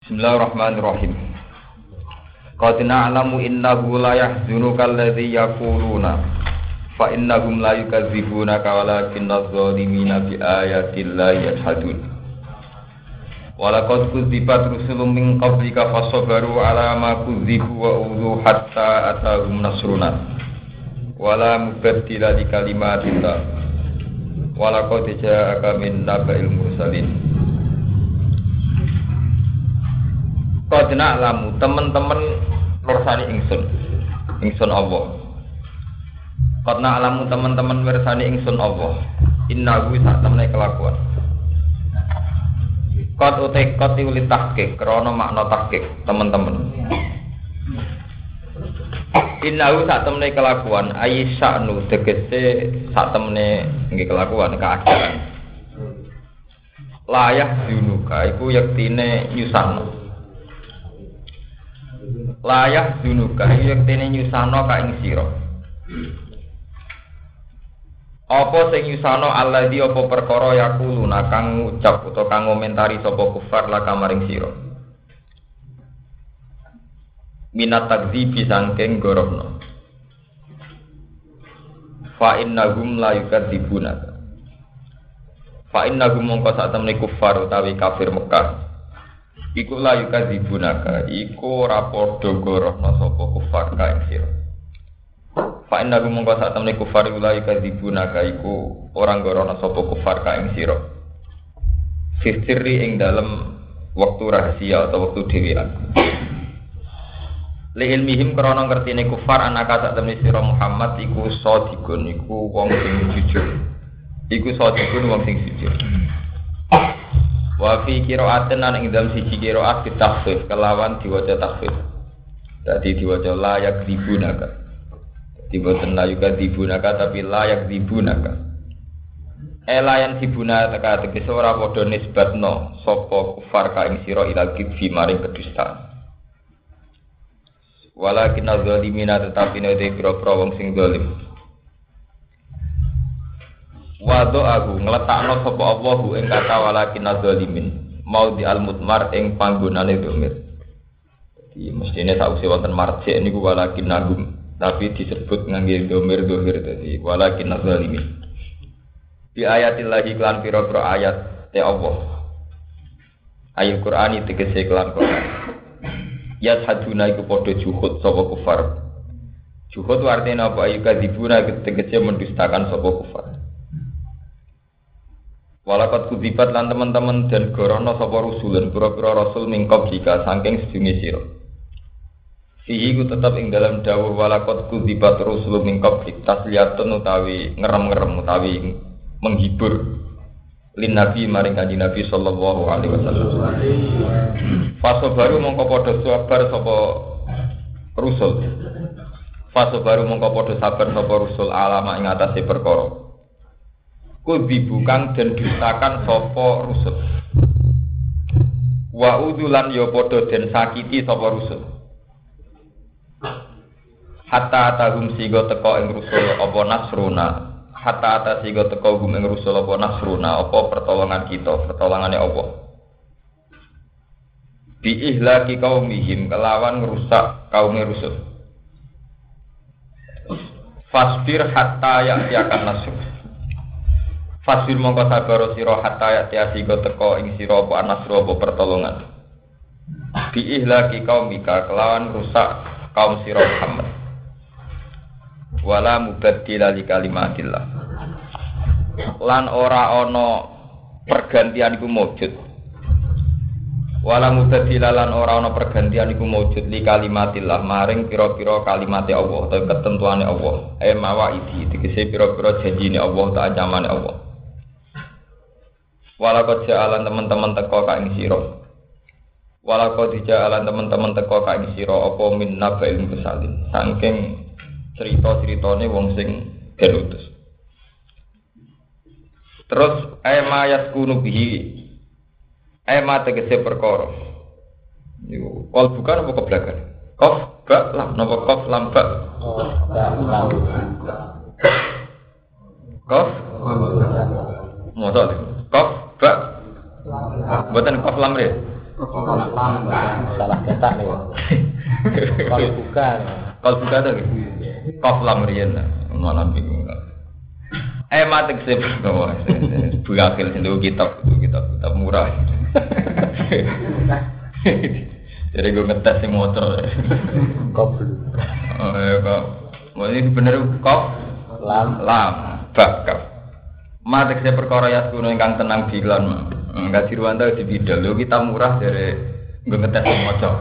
Bismillahirrahmanirrahim. Qad na'lamu innahu la yahzunuka alladhi yaquluna fa innahum la yukadzibunaka walakinna adh-dhalimina bi ayati llahi yajhadun. Wa laqad kudzibat rusulun min qablika fasabaru ala ma kudzibu wa udhu hatta atahum nasruna. Wa la mubaddila li kalimatillah. Wa laqad ja'aka min naba'il mursalin. Qad na'lamu teman-teman mirsani ingsun Allah. Qad na'lamu teman-teman mirsani ingsun Allah. Innahu sak temene kelakuan. Qad utekot ulit tahqiq krana makna tahqiq teman-teman. Innahu sak temene kelakuan ayyasanu tegese sak temene nggih kelakuan keadaan. Layah dunuka iku yektine nyusahno. Layah dunuka yektene nyusahno ka ing sira. Apa sing nyusahno alladzi apa perkara yaquluna kang ngucap utawa kang ngomentari sapa kufar la kamaring sira. Minat takdzibi sangking gorohno. Fa innahum la yukadzibunaka. Fa innahum mongko sak temene kufar utawi kafir Mekah. Iku la yukadzibunaka, iku ora padha gorohno sapa kufar ka ing sira. Fa innahum mongko sak temene kufar la yukadzibunaka iku ora gorohno sapa kufar ka ing sira. Sirri ing dalem wektu rahasia atau wektu dhewean. Li ilmihim krana ngertine kufar anaka sak temene sira Muhammad iku shadiqun iku wong sing jujur. Iku shadiqun wong sing jujur. Wa fi qira'atin ing dalem siji qira'at ditakhfif kelawan diwaca takhfif. Dadi diwaca la yakdzibunaka. Dadi boten la yakdzibunaka tapi la yakdzibunaka. Elayan dibunaka tegese ora padha nisbatno sapa kufar ka ing sira ila kidfi maring kedustaan. Walakin az-zalimina tetapi nek pira-pira wong sing zalim. Wado aku ngletakno sapa Allah ing kata walakin az-zalimin mau di al-mutmar ing panggonane dhamir. Dadi mestine sausé wonten marji niku walakin nagum tapi disebut ngangge dhamir dhahir dadi walakin az-zalimin. Di ayatillahi lan pira-pira ayat te Allah. Ayat Qur'ani tegese kelan Qur'an. Ya saduna iku padha juhud sapa kufar. Juhud artine apa ayu kadzibuna tegese mendustakan sapa kufar. Walakat kudzibat lan teman-teman dan gorono sapa rusulun pira-pira rasul mingkop jika saking sedunge sira. Fihi ku tetap ing dalam dawuh walakat kudzibat rusul mingkop tasliyatun utawi ngerem-ngerem utawi menghibur lin nabi maring kanjeng Nabi sallallahu alaihi wasallam. Fase baru mongko padha sabar sapa rusul. Fase baru mongko padha sabar sapa rusul alama ing atase perkara. Kudzibukan dan dustakan sapa rusul. Wa udulan ya padha den sakiti sapa rusul. Hatta tahum sigo teko ing rusul apa nasruna. Hatta ata sigo teko gum ing rusul apa nasruna apa pertolongan kita, pertolongane Allah. Bi ihlaki qaumihim kelawan ngrusak kaum rusul. Fasbir hatta ya'tiakan nasr. Fasbir mongko sabar sira hatta ya'ti go teko ing sira apa nasru apa pertolongan. Bi ihlaki qaumika kelawan rusak kaum sira Muhammad. Wala mubaddila li kalimatillah. Lan ora ana pergantian iku mujud. Wala mubaddila lan ora ana pergantian iku mujud li kalimatillah maring pira-pira kalimate Allah utawa ketentuane Allah. Mawaidi tegese pira-pira janjine Allah ta ancamane Allah. Walaqad ja'alan teman-teman teko ka ing sira. Walaqad ja'alan teman-teman teko ka ing sira apa min naba'il mursalin. Saking cerita-ceritane wong sing den utus. Terus ayma yaskunu bihi. Ayma tegese perkara. Niku kol bukan apa keblakan. Qaf ba lam napa qaf lam ba. Qaf modal. Qaf ba. Mboten qaf lam re. Salah cetak nih. Kalau bukan. Kalau bukan tuh kof lam riyen malah bingung. Mati kesep buakil sentuh kitab murah. Jadi gue ngetes sing motor. Kof. Kok mau ini bener kof lam bakap. Mati kesep perkara ya kuno ingkang tenang bilan. Enggak diruwanta di bidal lho kita murah dari gue ngetes sing motor.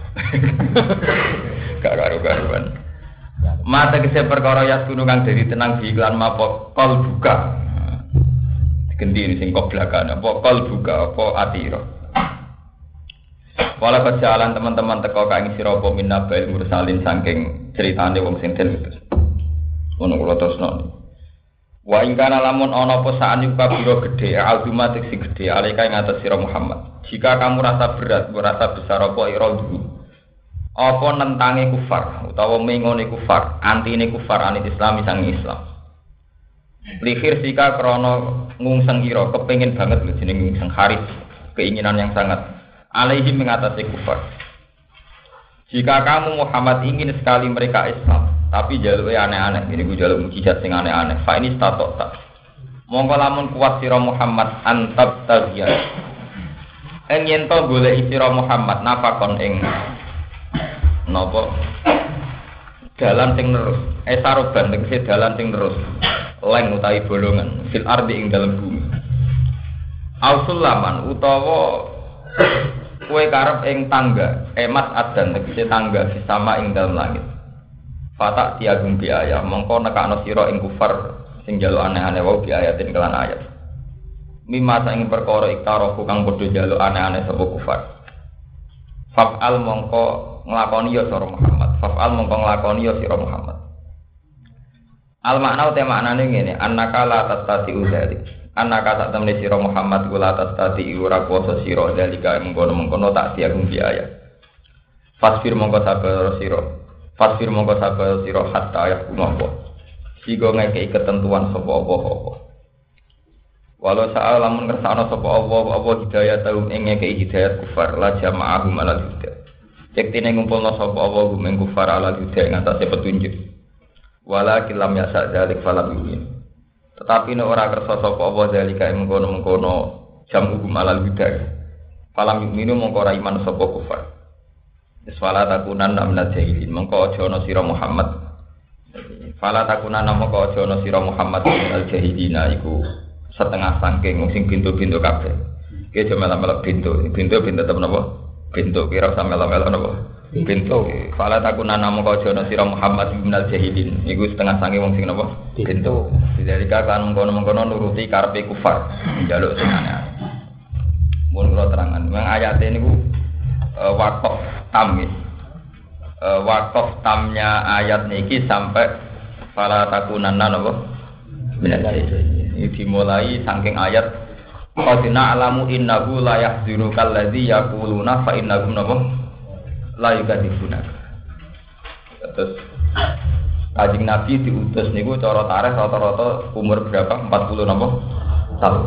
Gak karu-karuan. Mata kesep perkara ya kuno kang dari tenang bilan mapo kol buka. Ganti sing kok belakang apa kol buka apa atira. Wala kejalan teman-teman teko kaing sira apa minnabail mursalin saking critane wong sing den utus. Ono kula terusno. Wa ing kana lamun ana apa saan yuka biro gedhe aldumatik sing gedhe alika ing atas sira Muhammad. Jika kamu rasa berat, merasa besar apa iradu. Apa nentange kufar utawa mengone kufar, antine kufar anit Islam sang Islam. Likhir sika krana ngungseng ira, kepengin banget lho jeneng ngungseng haris, keinginan yang sangat alaihi mengatasi kufar. Jika kamu Muhammad ingin sekali mereka Islam, tapi jaluke aneh-aneh, ini ku jaluk mukjizat sing aneh-aneh. Fa ini statok tak. Monggo lamun kuat sira Muhammad antab tagiya. Yen to golek sira Muhammad nafakon ing napa dalan sing terus saroban tegese dalan sing terus leng utawi bolongan fil ardi ing dalem bumi ausulaman utawa kowe karep ing tangga emas adan tegese tangga sama ing dalem langit fatak tiagum bi ayat mongko nekakno sira ing kufar sing njaluk aneh-aneh wae bi ayatin kelan ayat mimma ing perkara iktarofu kang padha njaluk aneh-aneh sapa kufar fa'al mongko nglakoni ya sira Muhammad. Fa'al mongko nglakoni ya sira Muhammad. Al makna uta maknane ngene, annaka la tastati udzalik. Annaka sak temne sira Muhammad kula tastati ora kuwasa sira dalika mengkono-mengkono tak diagung biaya. Fasfir mongko sabar sira. Fasfir mongko sabar sira hatta ya kunopo. Sigo ngekeki ketentuan sapa apa-apa. Walau sa'a lamun kersane sapa apa hidayah taum ing ngekeki hidayat kufar la jama'ahum ala hidayah. Yektine ngumpulna sapa Allah gumeng kufar ala hidayah ing atase petunjuk. Wala kilam yasa dzalik falam yumin. Tetapi nek ora kersa sapa Allah dzalika ing mengkono-mengkono jamu gum ala hidayah. Falam yumin mongko ora iman sapa kufar. Iswala takunan namna jahilin mongko aja ana sira Muhammad. Fala takunan mongko aja ana sira Muhammad al jahilina iku setengah saking sing pintu-pintu kabeh. Ki aja melok-melok pintu tetep napa? Pintu kira sampe melok-melok napa? Pintu. Fala takuna namo ka jono sira Muhammad minal jahilin. Iku setengah sange wong sing napa? Pintu. Didelika kan mengkono-mengkono nuruti karepe kufar. Njaluk sing aneh. Mun kula terangan, memang ayate niku waqaf tam iki. Waqaf tamnya ayat niki sampai fala takuna napa? Minal jahilin. Ini dimulai saking ayat qadina alamu innahu la yahzunukal ladzi yaquluna fa innahum la yukadzibuna. Terus Kanjeng Nabi diutus niku cara tarikh rata-rata umur berapa? 40 tahun.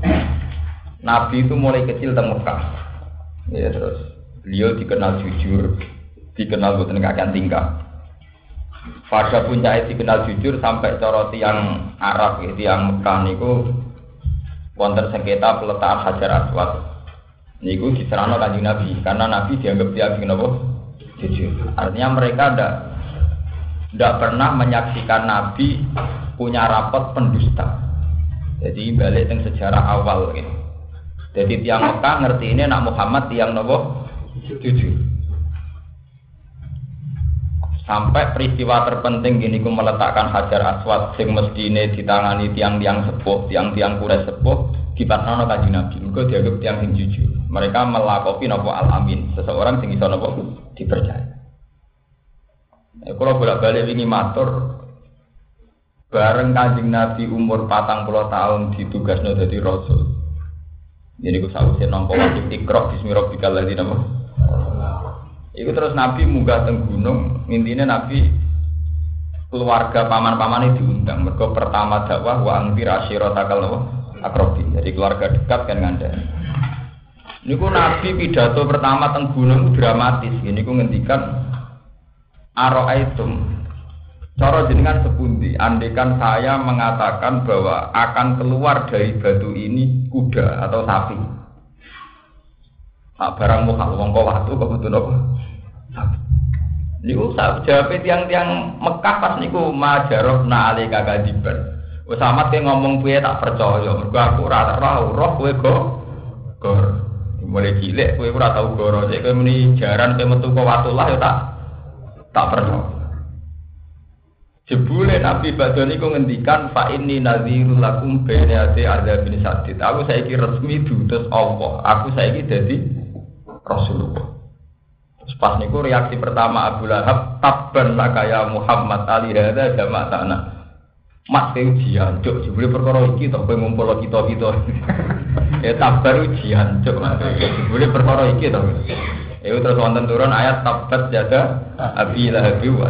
Nabi itu mulai kecil teng Mekah. Ya terus beliau dikenal jujur, dikenal boten kakean tingkah. Pada puncaknya dikenal jujur sampai cara tiang Arab, tiang Mekah niku wonten sengketa peletakan Hajar Aswad. Niku diserahno Kanjeng Nabi karena Nabi dianggap tiang napa? Jujur. Artinya mereka tidak pernah menyaksikan Nabi punya rapot pendusta. Jadi balik teng sejarah awal gitu. Jadi tiang Mekah ngerti ini nak Muhammad tiang napa? Jujur. Sampai peristiwa terpenting gini ku meletakkan Hajar Aswad sing mestine ditangani tiang-tiang sepuh, tiang-tiang Quraisy sepuh dipatnono Kanjeng Nabi. Mergo dianggap tiang sing jujur. Mereka melakopi napa al-amin, seseorang sing iso napa dipercaya. Kalau bolak-balik wingi matur bareng Kanjeng Nabi umur 40 tahun ditugasno dadi rasul. Jadi ku sawise nampa wajib Iqra bismi rabbikal ladzi napa. Iku terus Nabi munggah teng gunung, intine Nabi keluarga paman-pamane diundang. Mergo pertama dakwah wa anzir asyiratakal aqrabin. Jadi keluarga dekat kan ngandani. Niku Nabi pidato pertama teng gunung dramatis. Niku ngendikan Aro'aitum. Cara jenengan sepundi, andekan saya mengatakan bahwa akan keluar dari batu ini kuda atau sapi. Nah, barang mukhal wong kok watu kok betul apa? Niku jawab tiang-tiang Mekah pas niku majarobna alika kadiban. Wes amat ke ngomong piye tak percaya, mergo aku ora roh kowe gor. Mulai cilik kowe ora tau goro, nek kowe muni jaran kowe metu kok watulah ya tak percaya. Jebule Nabi badhe niku ngendikan fa inni nadhirul lakum baina yati adzabin sadid. Aku saiki resmi diutus Allah. Aku saiki dadi Rasulullah. Terus pas niku reaksi pertama Abu Lahab, tabban laka ya Muhammad ali hadza jama'ana. Mak ujian, cuk jebule perkara iki to kowe ngumpul kita-kita. Ya tabar ujian, cuk. Jebule perkara iki to. Ya terus wonten turun ayat tabat jada Abi Lahab wa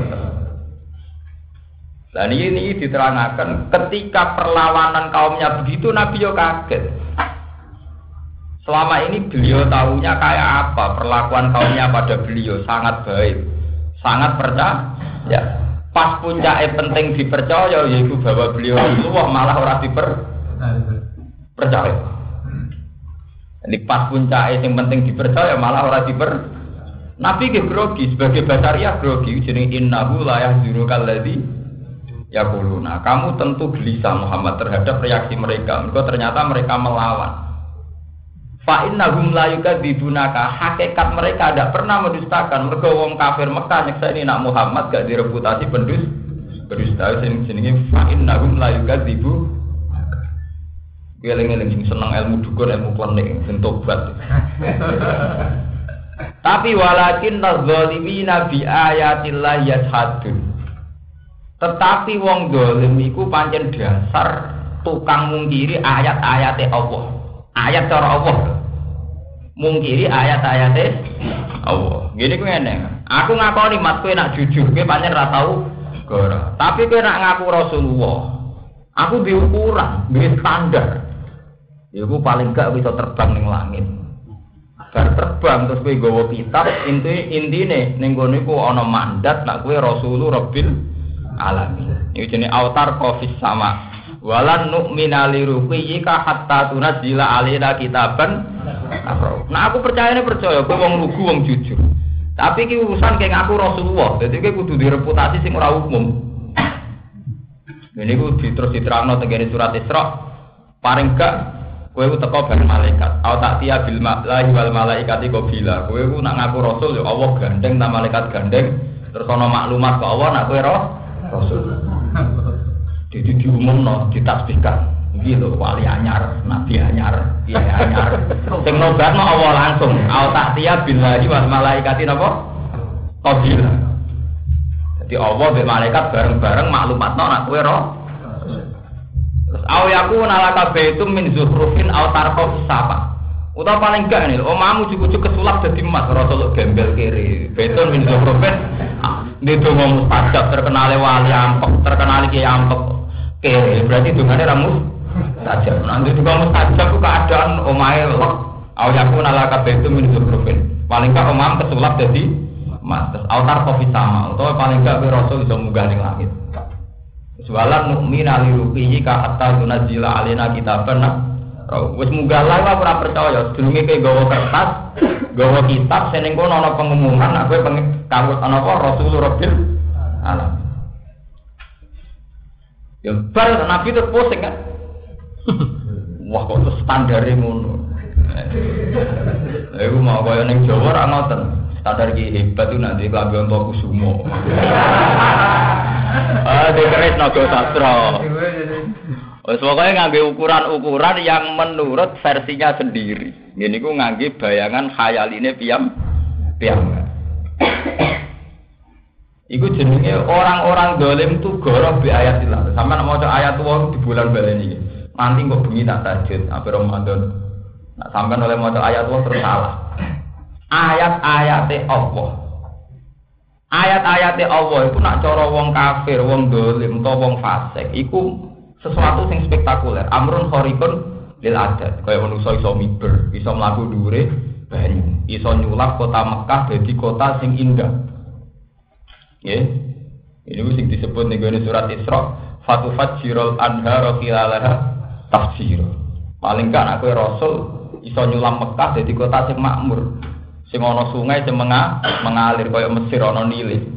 Nah ini diterangkan ketika perlawanan kaumnya begitu Nabi yo kaget. Selama ini beliau tahunya kayak apa perlakuan kaumnya pada beliau sangat baik, sangat percaya. Ya. Pas puncaknya penting dipercaya yaitu bahwa beliau Rasulullah malah orang dipercaya. Jadi pas puncaknya yang penting dipercaya malah orang Nabi ke grogi sebagai basariah grogi jeneng innahu la yahzunukal ladzi ya kuluna, kamu tentu gelisah Muhammad terhadap reaksi mereka. Mereka ternyata mereka melawan. Fa innahum la yukadzibunaka, hakikat mereka tidak pernah mendustakan. Mereka wong kafir Mekah nyekseni nak Muhammad gak direputasi pendusta. Jenenge fa innahum la yukadzibu. Eling-eling seneng ilmu dukun, ilmu klenik, sing tobat. Tapi walakin nadzzalimina bi ayatillah yashhadun. Tetapi wong dolim iku pancen dasar tukang mungkiri ayat-ayate Allah. Ayat cara Allah. Mungkiri ayat-ayate Allah. Gini ku ngene. Aku ngakoni mat kowe nak jujur, kowe pancen ra tau goro. Tapi kowe nak ngaku Rasulullah. Aku diukuran, duwe standar. Iku paling gak bisa terbang ning langit. Bar terbang terus kowe nggawa kitab, intine ning kono iku ana mandat nak kowe Rasulullah Rabbil alamin. Iki jenenge autar qafis sama. Walan nu'mina liruqiyika hatta tunzila alaina kitaban. Nah aku percaya kowe wong lugu wong jujur. Tapi iki urusan kaya ngaku Rasulullah. Dadi kowe kudu direputasi sing ora umum. Ini ku terus diterangno teng surat Isra. Paring gak kowe ku teko bareng malaikat. Au ta'tiya bil mala'i wal malaikati qabila. Kowe ku nak ngaku rasul ya Allah gandeng ta malaikat gandeng. Terus ana maklumat kok Allah nak kowe Rasul. Jadi diumumno, ditasbihkan. Iki lho wali anyar, nabi anyar, kiai anyar. Sing nobatno Allah langsung. Au ta'tiya billahi wal malaikati napa? Qabila. Jadi Allah be malaikat bareng-bareng maklumatno nak kowe Terus au yakuna laka baitum min zuhrufin au tarqaf sapa. Utawa paling gak nih, omamu cukup kesulap dadi emas Rasul gembel kiri. Beton min zuhrufin ini donga mustajab, terkenal wali ampek, terkenal kiai ampek. Oke, berarti dongane ra mustajab. Nanti donga mustajab ku keadaan omahe lek aku nalaka betu min zukrufin. Paling gak omam kesulap dadi emas. Terus autar kofi sama, utawa paling gak Rasul iso munggah ning langit. Walan nu'mina li ruqihi ka hatta tunzila alaina kitaban. Wis munggah lae ora percaya, sedurunge kowe gawa kertas, gawa kitab sing ning kono ana pengumuman aku kanggo ana apa Rasulullah Rabbil alamin. Ya bar Nabi itu pusing kan. Wah kok standare ngono. Iku mau kaya ning Jawa ra ngoten. Standar iki hebat itu nanti klambi onto kusumo. Dikeris naga sastra. Wes pokoke ngangge ukuran-ukuran yang menurut versinya sendiri. Ngene iku ngangge bayangan khayaline piyam. Iku jenenge orang-orang dolim tu goroh bi ayatillah. Sampeyan maca ayat tuwa di bulan baleni iki. Nanti kok bengi tak tahajud ape Ramadan. Nah, sampeyan oleh maca ayat tuwa terus salah. Ayat-ayate Allah. Ayat-ayate Allah iku nak cara wong kafir, wong dolim utawa wong fasik iku sesuatu sing spektakuler. Amrun khariqun lil adat. Kaya manusa iso miber, iso mlaku dhuwure banyu, iso nyulap kota Mekah dadi kota sing indah. Nggih. Ini sing disebut ning surat Isra, fatufajjirul anhara khilalaha tafsir. Paling kan aku rasul iso nyulam Mekah dadi kota sing makmur. Sing ana sungai sing mengalir kaya Mesir ana Nile.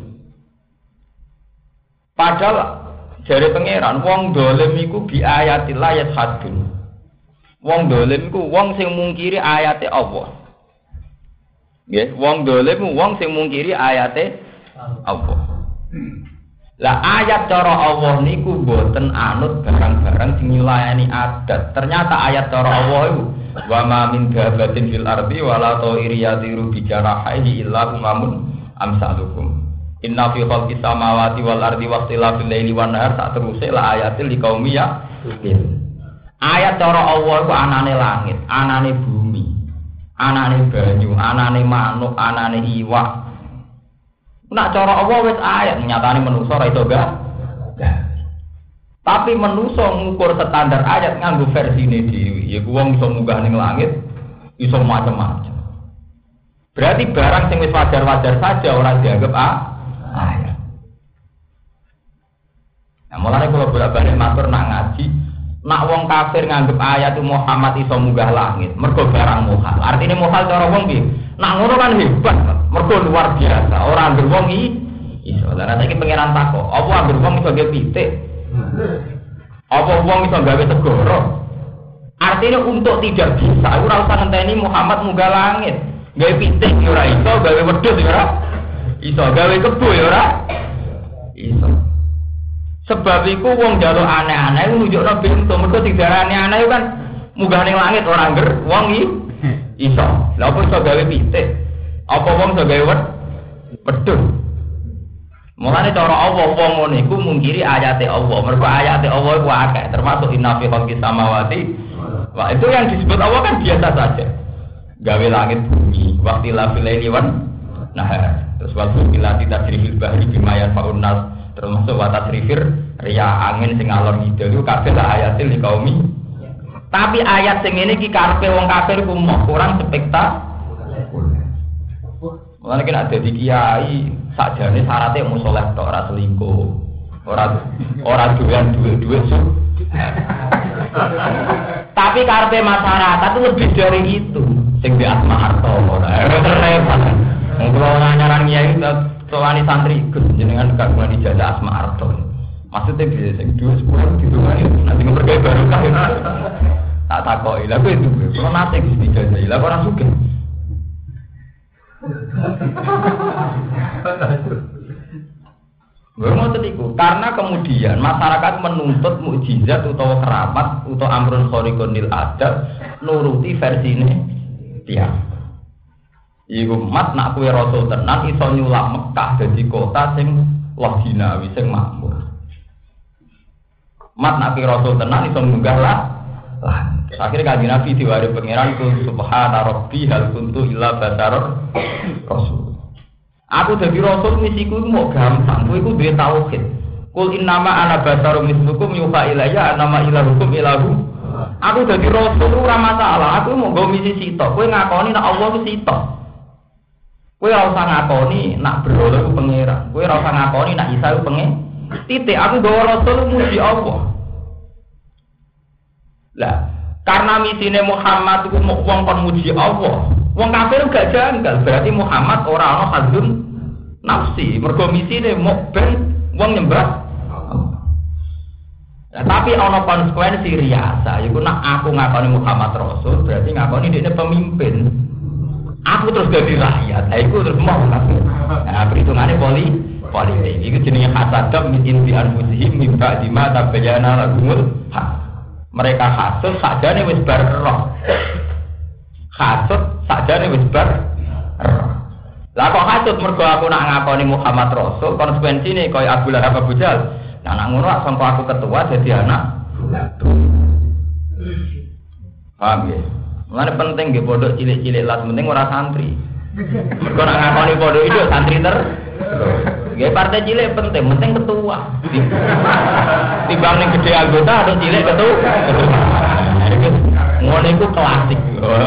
Padahal jare pangeran wong dolim iku bi ayatillah yashadun. Wong dolim iku wong sing mungkiri ayate Allah. Nggih, wong dolim wong sing mungkiri ayate Allah. Lah ayat cara Allah niku boten anut barang-barang sing nyulayani adat. Ternyata ayat cara Allah iku wa ma min dabatin fil ardi wala ta'iri yatiru bi jarahihi illa umamun amsalukum. Inna fi khalqis samawati wal ardi waqtilafil laili wan nahar sak teruse la ayatil liqaumi yaqilun. Ayat cara Allah iku anane langit, anane bumi, anane banyu, anane manuk, anane iwak. Nak cara Allah wis ayat nyatane manusa ora iso gak. Tapi manusa ngukur standar ayat nganggo versine dhewe. Ya wong iso munggah ning langit, iso macam-macam. Berarti barang sing wis wajar-wajar saja ora dianggap ayat. Nah, mulane kula bolak-balik matur nak ngaji, nak wong kafir nganggep ayat Muhammad iso munggah langit, mergo barang muhal. Artine muhal cara wong piye? Nak ngono kan hebat, mergo luar biasa. Ora anggere wong iso. Lah nek iki pangeran takok, apa anggere wong iso gawe pitik? Apa wong iso gawe segara? Artinya untuk tidak bisa, ora usah ngenteni Muhammad munggah langit. Gawe pitik ora iso, gawe wedhus ora iso, gawe kebo ora iso. Sebab iku wong njaluk aneh-aneh nunjukno pintu, mergo didarani aneh kan munggah ning langit ora ngger wong iso. Lha opo iso gawe pitik? Apa wong iso gawe wedhus? Mulane cara Allah wong ngene iku mungkiri ayate Allah. Mergo ayate Allah iku akeh, termasuk inna fi khalqis samawati. Wah, itu yang disebut Allah kan biasa saja. Gawe langit bumi, waqtilafil laili wan nahar. Terus waktu bila tasrifil bahri bimayan faunnas, termasuk wa tasrifir riya angin sing ngalor ngidul iku kabeh ayatil liqaumi. Tapi ayat sing ngene iki karepe wong kafir ku kurang spektakuler. Mulane nek ada di kiai sakjane syaratnya mau soleh tok ora selingkuh. Ora doyan duit-duit. Tapi karepe masyarakat itu lebih dari itu. Sing di asma harta ora repot. Kalau nyaran kiai soal santri jenengan gak mulai dijajah asma harta. Maksudnya bisa sing 2-10 ditungani nanti ngepergai barokah. Tak takoki lha kuwi itu. Kalau nate dijajah lha ora sugih. Karena kemudian masyarakat menuntut mukjizat utawa keramat utawa amrun khariqunil adab nuruti versine dia. Iku mat nak kowe rasul tenan iso nyulap Mekah dadi kota sing laginawi sing makmur. Mat nak rasul tenan iso munggah lah. Akhirnya kanjeng Nabi diwari pangeran ku subhana rabbi hal kuntu illa basarur rasul. Aku dadi rasul misiku mau gampang, kowe iku duwe tauhid. Qul innama ana basarun mislukum yuha ilayya annama ilahukum ilahu. Aku dadi rasul ora masalah, aku mau nggo misi sitok. Kowe ngakoni nek Allah ku sitok. Kowe ora usah ngakoni nek berhala ku pangeran. Kowe ora usah ngakoni nek Isa ku pengen. Titik aku nggawa rasul muji Allah. Lah karena misine Muhammad itu wong kon muji Allah. Wong kafir gak janggal, berarti Muhammad ora ana hadzun nafsi. Mergo misine mok ben wong nyembah. Nah, tapi ana konsekuensi riasa, iku nek aku ngakoni Muhammad Rasul, berarti ngakoni dhekne pemimpin. Aku terus dadi rakyat. Lah iku terus mau kafir. Nah, perhitungane politik. Iku jenenge hasadam min indi anfusihim min ba'di ma tabayyana lahumul haq. Mereka hasud sakjane wis bar roh. Hasud sakjane wis bar roh. Lah kok hasud mergo aku nak ngakoni Muhammad Rasul, konsekuensine kaya Abu Lahab Abu Jahal. Nah nak ngono sampe aku ketua jadi anak. Paham ya? Mulane penting nggih pondok cilik-cilik lah penting ora santri. Mergo nak ngakoni pondok itu santri nggih partai cilik penting ketua. Timbang ning gede anggota ada cilik ketua. Ngono iku klasik.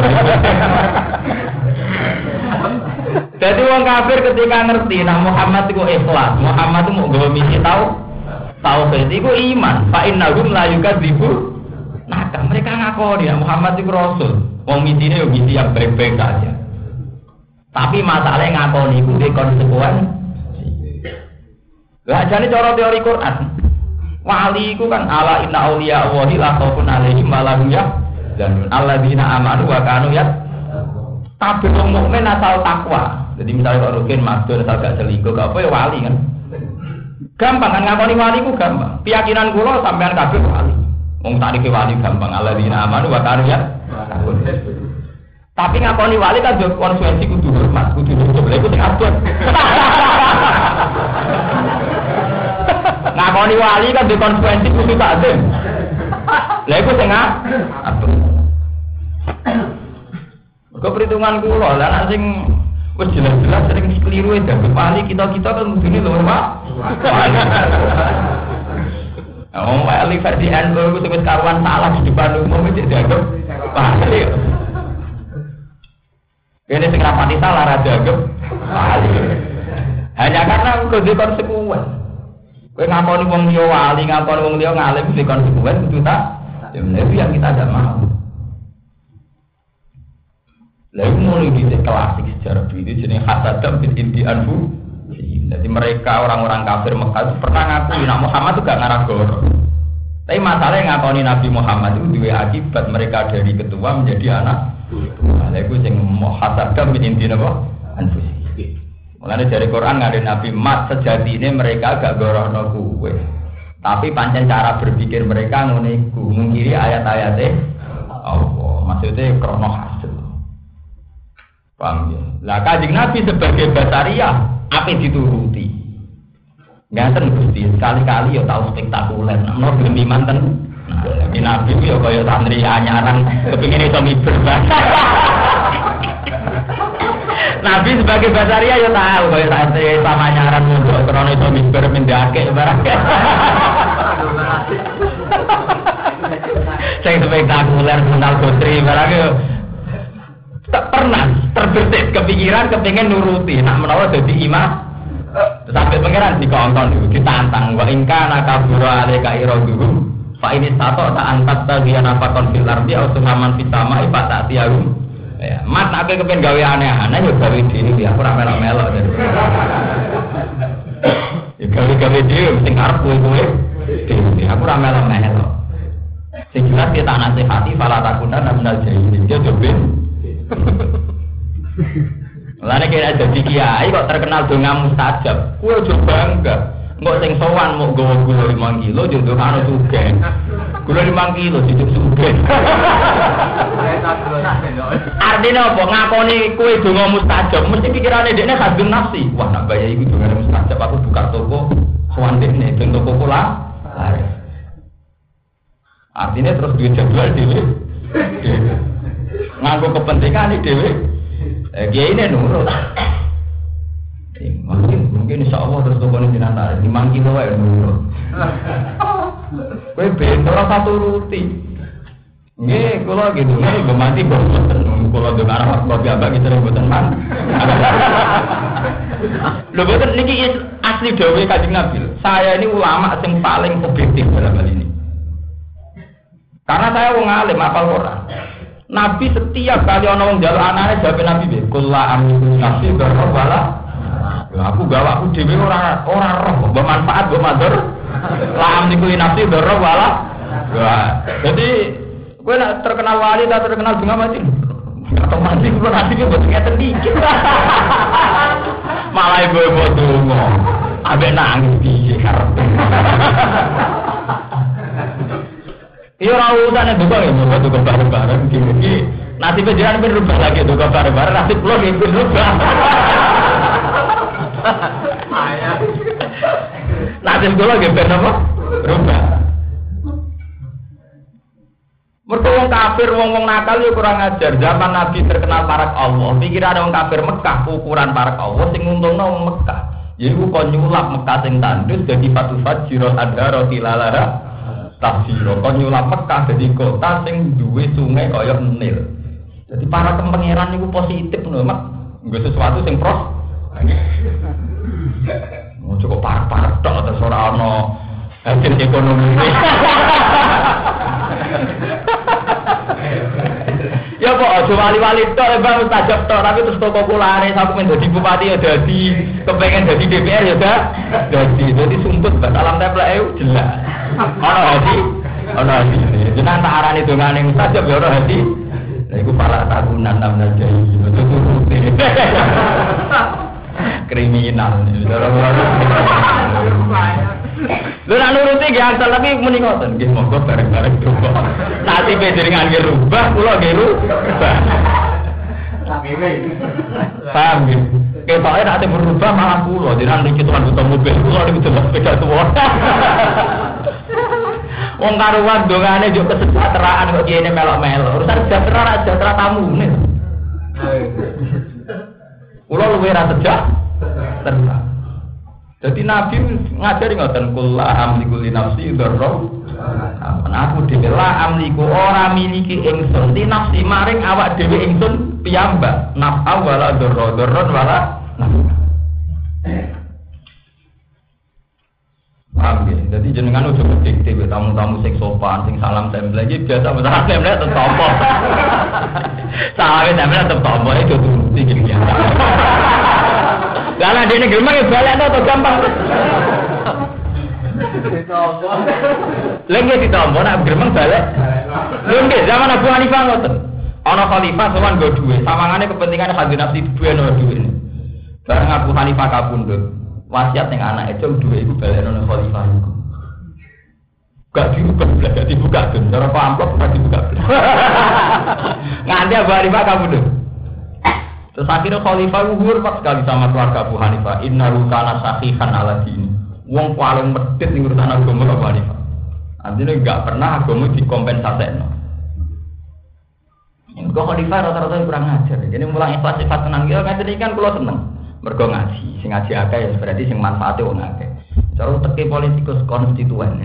Jadi wong kafir ketika ngerti nah Muhammad itu ikhlas, Muhammad itu mau gawe misi tauhid iku iman. Fa innahum la yukadzibu. Nah, mereka ngakoni ya Muhammad itu rasul. Wong misine yo misi yang baik-baik saja. Tapi masalahnya ngakoni iku dhe konsekuensi. Lah jane cara teori Quran. Wali iku kan ala inna auliya Allahi la khaufun alaihim wa lahum yahzanun. Alladzina amanu wa kanu tapi wong mukmin asal takwa. Jadi misalnya kalau rukin madun asal gak selingkuh, gak apa ya wali kan. Gampang kan ngakoni wali ku gampang. Keyakinan kula sampean kabeh wali. Wong tarike wali gampang. Alladzina amanu wa kanu tapi ngakoni wali kan yo konsekuensi kudu hormat, kudu coba iku sing abot. Ngakoni wali kan di konsekuensi kudu takzim. Lha iku sing abot. Kok perhitungan kula lah sing wis jelas-jelas sering keliru ya wali kita kan mudune lho Pak. Oh, wali versi NU itu wis karuan salah di depan umum iki dianggap wali. Ini sing rapati salah ra dianggap wali. Hanya karena kudu konsekuen. Kowe ngakoni wong liya wali, ngakoni wong liya ngalim kudu konsekuen kudu tak. Ya itu yang kita tidak mau. Lalu mulai di klasik sejarah itu jenis hasadam bin inti anfu. Jadi mereka orang-orang kafir Mekah itu pernah ngakui Nabi Muhammad itu gak ngarah goro. Tapi masalahnya ngakoni Nabi Muhammad itu dua akibat mereka dari ketua menjadi anak. Lalu itu yang hasadam bin inti anfu. Mulanya dari Quran ada Nabi Mat sejati ini mereka gak goro no kue. Tapi pancen cara berpikir mereka nguniku mengkiri ayat-ayatnya. Allah maksudnya krono hasil. Paham ya? Lah Kanjeng Nabi sebagai basariah apa dituruti? Ngaten Gusti, sekali-kali ya tahu spektakuler. Nomor gelem manten. Nah, Nabi yo kaya santri anyaran kepengin iso miber. Nabi sebagai basariah ya tahu kaya santri sama anyaran munduk krono iso miber mendake barang. Sing spektakuler mental putri barang yo tak pernah terbesit kepikiran kepengen nuruti nak menawa jadi imam sampai pangeran dikongkon ditantang wa ingka nakabura aleka iroduhu fa ini tato tak angkat bagian apa konfil ardi atau saman pitama ipat tak tiarum ya mat nak kepengen gawe aneh-aneh yo gawe diri aku ora melo-melo ya gawe diri sing arep kowe aku ora melo-melo sing jelas kita nasihati fala takuna namnal jahilin dia dobin. Lane kira dadi kiai kok terkenal donga mustajab. Kuwi aja bangga. Engko sing sowan mok gowo gula 5 kilo jodoh karo sugih. Gula 5 kilo dijuk sugih. Artinya apa? Ngakoni kuwi donga mustajab, mesti pikirane dekne hadun nafsi. Wah, nak bayar iki donga mustajab aku buka toko sowan dekne ben toko kula. Artinya terus duit jadwal dhewe. Nganggo kepentingan iki dhewe. Kiai ini nurut. Mungkin insyaallah terus tokone jenengan 5 kilo wae nurut. Kowe ben ora satu ruti. Nggih, kula gitu nggih mati boten. Kula dengar kok ambak iki sering boten man. Lho boten niki asli dawuh Kanjeng Nabi. Saya ini ulama yang paling objektif dalam hal ini. Karena saya wong alim hafal Quran. Nabi setiap kali ana wong njaluk anake jawab Nabi piye? Qul la amliku nafsi darra wala. Aku gawe aku dhewe ora roh, mbok manfaat mbok madur. La amliku nafsi darra wala. Jadi kowe nek terkenal wali ta terkenal bunga mati. Atau mati kulo nasibé mboten ngeten dikit. Malah ibu-ibu donga. Ambek nangis piye karepe. Iya rawusan itu kok ya, mau tukar bareng-bareng gini. Nanti penjalan pun rubah lagi tukar bareng-bareng. Nanti pulang ya pun rubah. Nanti sekolah ya pun apa? Rubah. Mereka wong kafir, wong nakal ya kurang ajar. Zaman Nabi terkenal parak Allah. Pikiran wong kafir Mekah ukuran parak Allah. Sing untungnya wong Mekah. Jadi kok nyulap Mekah sing tandus jadi fatufat jirot adha roti lalara. tafsiro. Kon nyulap Mekah dadi kota sing duwe sungai kaya Nil. Jadi para pangeran niku positif lho, Mak. Nggo sesuatu sing pros. Cukup parah-parah tok terus ora ana hasil ekonomi. Ya kok aja wali-wali tok Bang mustajab tok tapi terus toko kulare sampe dadi bupati ya dadi, kepengen dadi DPR ya dah. Dadi sumput bak alam templeke jelas. Ana hati. Jenengan tak arani dongane mustajab ya ora hati. Lah iku pala tahunan namanya jai. Kriminal. Lha nek nuruti ge asal tapi muni ngoten, nggih monggo bareng-bareng coba. Nanti panjenengan nggih rubah, kula nggih rubah. Paham nggih? Ketoke nek ate berubah malah kula, jenengan iki tuan butuh mobil, kula niku jelas sepeda tuwa. Wong karuan dongane yo kesejahteraan kok kene melok-melok. Urusan sejahtera tamune. Kula luwih ra sejahtera. Jadi Nabi ngajari ngoten kula amliku li nafsi dzarra. Aku dhewe la amliku ora miliki ingsun li nafsi maring awak dhewe ingsun piyambak. Naf'a wala dzarra, dzarron wala naf'a. Paham ya? Jadi jenengan udah berdikte tamu-tamu sing sopan, sing salam tempel iki biasa masalah tempel tetep tompo. Salam tempel tetep tompo itu turuti iki biasa. Lah nek dene gemeng ya balekno to gampang. Ditompo. Lagi ditompo nek gemeng balek. Lho nggih zaman Abu Hanifah ngoten. Ana khalifah sowan nggo dhuwit, sawangane kepentingane hadhi nafsi duwe ana dhuwit. Bareng Abu Hanifah kapundhut, wasiat ning anake cung dhuwit iku balekno nang khalifah iku. Gak dibuka kan, cara amplop gak dibuka. Nganti Abu Hanifah kapundhut. Terus akhirnya khalifah hormat sekali sama keluarga Abu Hanifah. Innahu kana sahihan ala dini. Wong paling medhit ning urusan agama Abu Hanifah. Artinya enggak pernah agama dikompensasekno. Engko khalifah rata-rata kurang ajar. Jadi mulang ikhlas sifat tenang ya ngaten kan kula seneng. Mergo ngaji, sing ngaji akeh ya berarti sing manfaate wong akeh. Cara teke politikus konstituen.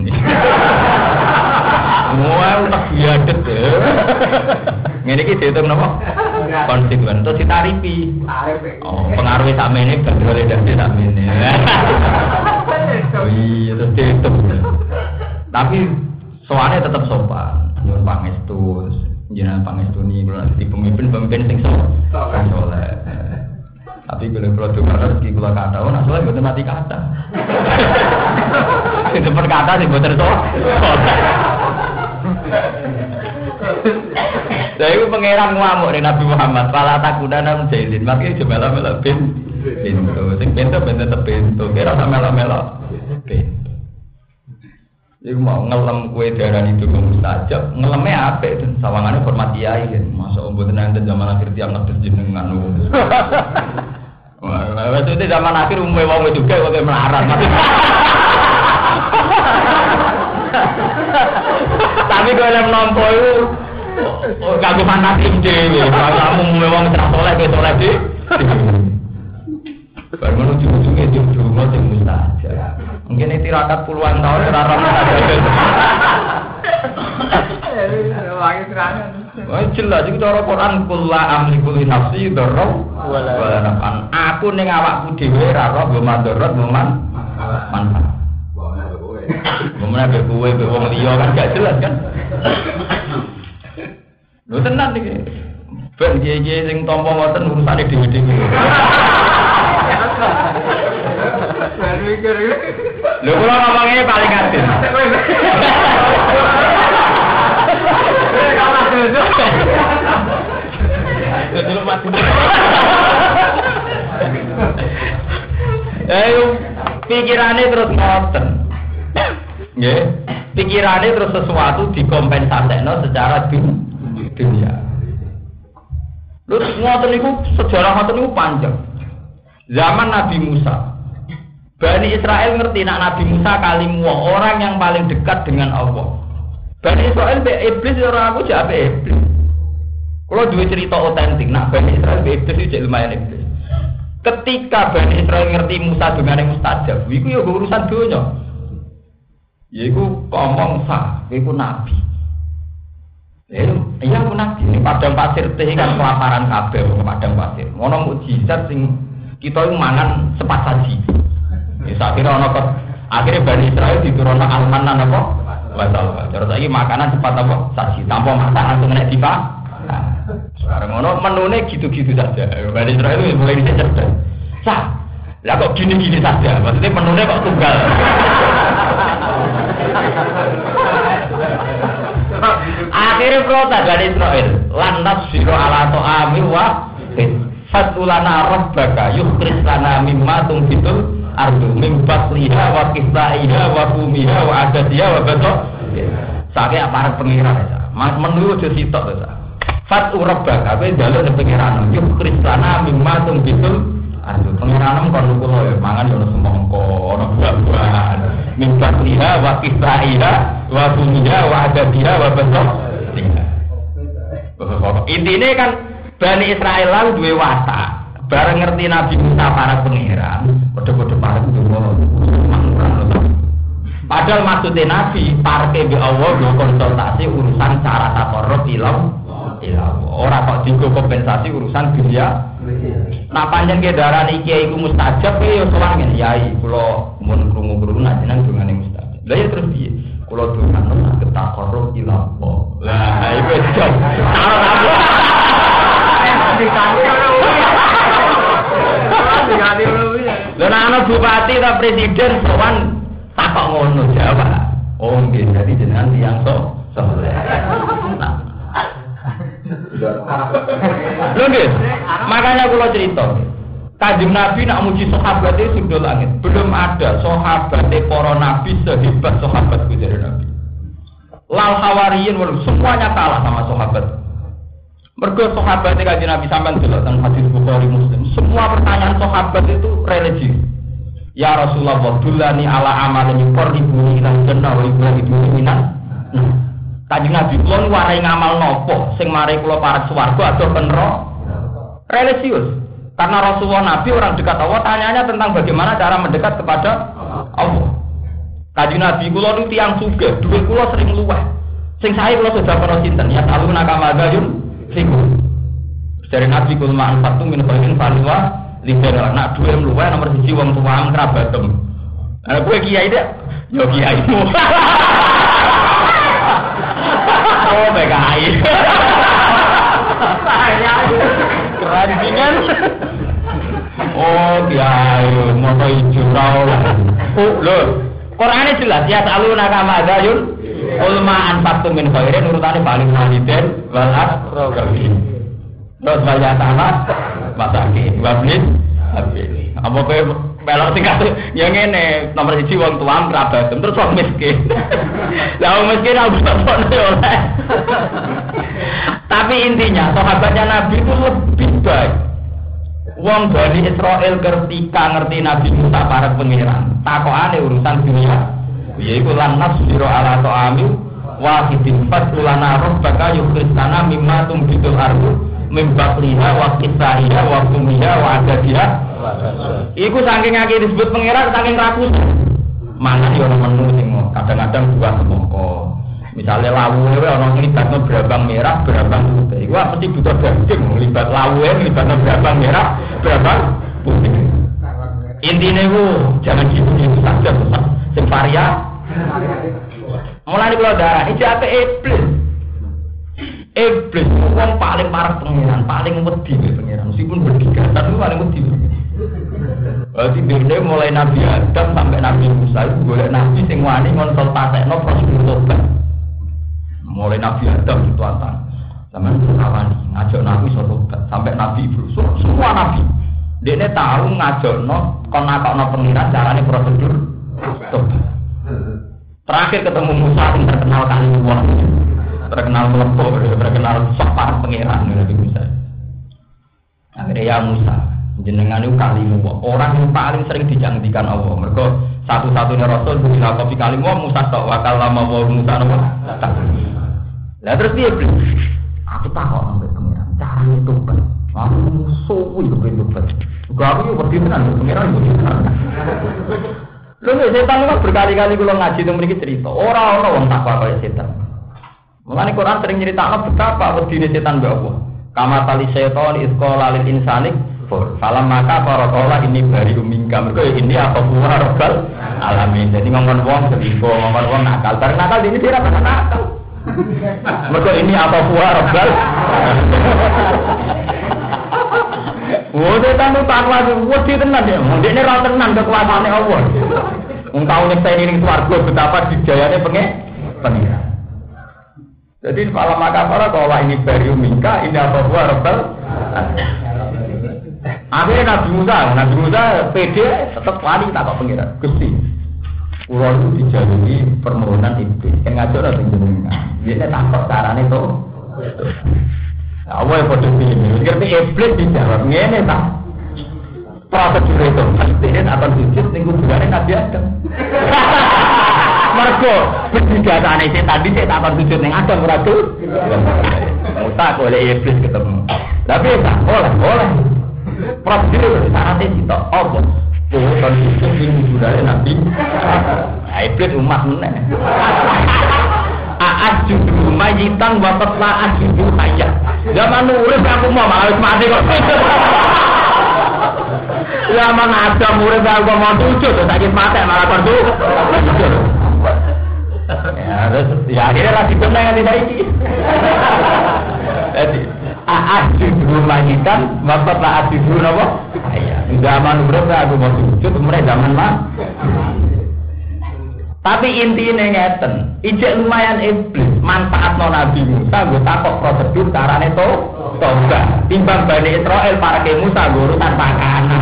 Wah, utak biadet ya. Ngene iki diitung napa? Konstituen terus ditarifi. Oh, pengaruhe sakmene bedole dadi sakmene. Oh iya, terus diitung. Tapi soalnya tetap sopan. Nyuwun pangestu, jenengan pangestuni kula dadi pemimpin sing soleh. Tapi kalau dengar rezeki kula kata, oh nak soleh mboten mati kata. Itu perkata sih mboten soleh. Saya itu pangeran ngamuk nih Nabi Muhammad. Pala takudana menjahilin. Makanya cuma melo pintu. Sing pintu pintu. Kira sama melo pintu. Iku mau ngelem kue darah itu mustajab. Ngelemnya apa itu? Sawangannya hormat kiai kan. Masa omboten enten zaman akhir tiang ngedes jenengan. Wah, itu zaman akhir umumnya wong juga kok melarat. Tapi kalau nampa itu kagum fanatik dhewe. Kalau memang terus soleh ke soleh di. Baru menuju ujungnya di rumah sing mustajab. Mungkin itu tirakat puluhan tahun ora ora mustajab. Wangi serangan. Wah jelas iki cara Quran kullu amliku li nafsi dzarra wala naf'an. Aku ning awakku dhewe ora ora madarat manfaat. Ngomongnya kowe wong liya kan gak jelas kan. Lho tenan iki. Ben kiye-kiye sing tampa ngoten urusane dhewe-dhewe. Lho kula ngomongnya paling adil. Dulu mati. Pikirane terus ngoten. Nggih, pikirane terus sesuatu dikompensasekno secara dunia. Lho ngoten niku sejarah ngoten niku panjang. Zaman Nabi Musa. Bani Israel ngerti nak Nabi Musa kalimu orang yang paling dekat dengan Allah. Bani Israel be iblis ora aku jak be iblis. Kalau duwe cerita otentik nak Bani Israel be iblis iki lumayan iblis. Ketika Bani Israel ngerti Musa dongane mustajab, iku ya urusan donya. Yaiku ngomong sah, yaiku nabi. Iya aku nabi. Ini padang pasir teh kan kelaparan kabeh padang pasir. Ngono mukjizat sing kita itu mangan cepat saji. Ya sakira ana kok akhire Bani Israil diturunno almanan apa? Wasal. Cara saiki makanan cepat apa? Saji. Tanpa masak langsung nek dipa. Sekarang ngono menune gitu-gitu saja. Bani Israil itu mulai cerdas. Sah. Lah kok gini-gini saja. Maksudnya menune kok tunggal. Akhirnya protes Bani Israil, lantas siro ala to'ami wa fatulana rabbaka yukris lana mimma tungbitul ardu mimbat liha wa kisaiha wa kumiha wa adadiha wa betok sakit aparat pengiran menurut sitok fatu rabbaka apa jalur pengiran yukris lana mimma tungbitul ardu pengiran kon kulo mangan yo semongko ono buah-buahan mimbat liha wa kisaiha wa kumiha wa adadiha wa betok. Intinya kan Bani Israel lalu duwe watak. Bareng ngerti Nabi Musa para pengiran, kode-kode para padahal maksudnya Nabi parke be Allah do konsultasi urusan cara takorruf ilam. Ora kok digo kompensasi urusan dunia. Nah panjang kedaran iki iku mustajab ya sowan ngene yai kula mun krungu-krungu jenengan dongane mustajab. Lah ya terus piye? Kula dongan takorruf ilam. Lah iku jam. Lha ana bupati ta presiden sowan takok ngono jawab. Oh nggih dadi jenengan tiyang saleh. Lho nggih, makanya kula cerita. Kanjeng Nabi nak muji sahabat itu sudah langit. Belum ada sahabat para nabi sehebat sahabat dari Nabi. Lal hawariyin semuanya kalah sama sahabat. Mergo sahabat Kanjeng Nabi sampean delok teng hadis Bukhari Muslim. Semua pertanyaan sahabat itu religi. Ya Rasulullah, dullani ala amalin yuqarribuni ila jannah wa yuqarribuni minan. Kanjeng Nabi kula warai ngamal nopo sing mari kula parek swarga atau neraka? Religius. Karena Rasulullah Nabi orang dekat Allah, tanyanya tentang bagaimana cara mendekat kepada Allah. Kanjeng Nabi kula nu tiyang sugih, dhuwit kula sering luweh. Sing sae kula sudah pernah sinten ya taluna kamadayun fiku. Dari Nabi kula manfaatu min khairin falwa libera nak dhuwit luweh nomor 1 wong tuwa kerabatem. Ana kowe kiai dek, yo kiaimu. Oh PKI. Kerajingan. Oh kiai, moto hijau lah. Lho, Qur'ane jelas ya saluna kama dayun. Ulma anfaqtum min khairin urutane paling waliden wal aqrabin. Terus bayar tanah masakin wablis habis. Apa kowe melok tingkat yang ngene nomor 1 wong tuam kerabat terus wong miskin. Lah wong miskin ora bisa oleh. Tapi intinya sahabatnya Nabi itu lebih baik. Wong Bani Israil ketika ngerti Nabi Musa para pangeran, takokane urusan dunia. Yaiku lan nasbiro ala ta'ami wahidin fatulana rabbaka yukhristana mimma tumbitul ardu min baqliha wa qisaiha wa kumiha wa adadiha. Iku saking akeh disebut pangeran saking rakus. Mangan yo menu sing kadang-kadang buah semangka. Misalnya lawuhe ana nglibatno brambang merah, brambang putih. Iku mesti butuh daging nglibat lawuhe, nglibatno brambang merah, brambang putih. Intine ku jangan gitu saja Ustaz. Sing varia. Mulane kula darah iki ape iblis. Iblis wong paling parah pengiran, paling wedi pengiran. Meskipun berdiga, tapi paling wedi. Berarti dene mulai Nabi Adam sampai Nabi Musa itu golek nabi sing wani konsultasekno prosedur tobat. Mulai Nabi Adam itu antang zaman kawani ngajak Nabi tobat sampai Nabi Ibrahim semua Nabi dia tahu ngajakno kon nakokno pengiran carane prosedur tobat. Terakhir ketemu Musa yang terkenal kali wong terkenal melepuh terkenal sopar pengiran Nabi Musa. Akhirnya ya Musa jenengan itu kalimu orang yang paling sering dijangdikan Allah. Mereka satu-satunya Rasul bila kopi kalimu Musa tok wakal lama Musa nopo. Lah terus dia beli. Aku takut sampai pengiran. Cara itu kan. Aku musuh itu kan. Gak aku juga berdinan pengiran juga. Lho setan kok berkali-kali kula ngaji teng mriki cerita, ora ana wong takwa kaya setan. Mulane Quran sering nyeritakno betapa wedine setan mbek Allah. Kama tali setan isqala lil insani salam maka para kala ini bari umingka mergo ini apa buah robbal alamin. Jadi ngomong wong selipo, ngomong wong nakal. Bareng nakal ini dia ora nakal. Mergo ini apa buah robbal. Oh, setan itu takwa wedi tenan ya. Ndekne ra tenan kekuasaane Allah. Wong tau nyekseni ning swarga betapa dijayane pengira. Jadi malam maka para kalau ini barium mingka ini apa buah rebel. Akhirnya Nabi Musa pede tetap wali tak kok pengira. Gusti, pulau itu dijalui permohonan iblis. Yang ngajar atau jenengan. Dia takut carane itu. Allah yang bodoh ini. Ngerti iblis dijawab ngene tak. Prosedur itu pasti akan sujud ning kuburane Nabi Adam. Mergo berdigatane setan dhisik tak akan sujud ning Adam ora tuh. Musa oleh iblis ketemu. Tapi tak boleh. Prosedur syaratnya kita apa? Kan sujud ning kuburane Nabi. Iblis umat meneh. Aat judu majitan wapat laat judu hayat. Zaman urip aku mau harus mati kok. Zaman ada murid aku mau sujud, sakit mata malah perdu. Ya akhirnya lagi benar yang tidak ini. Jadi aat judu majitan wapat laat judu apa? Zaman urip aku mau sujud, mereka zaman mah. Tapi intinya ngeten, ijek lumayan iblis, manfaat Nabi Musa, gue takut prosedur carane toga. Timbang Bani Israel para ke Musa, gue urusan pakanan.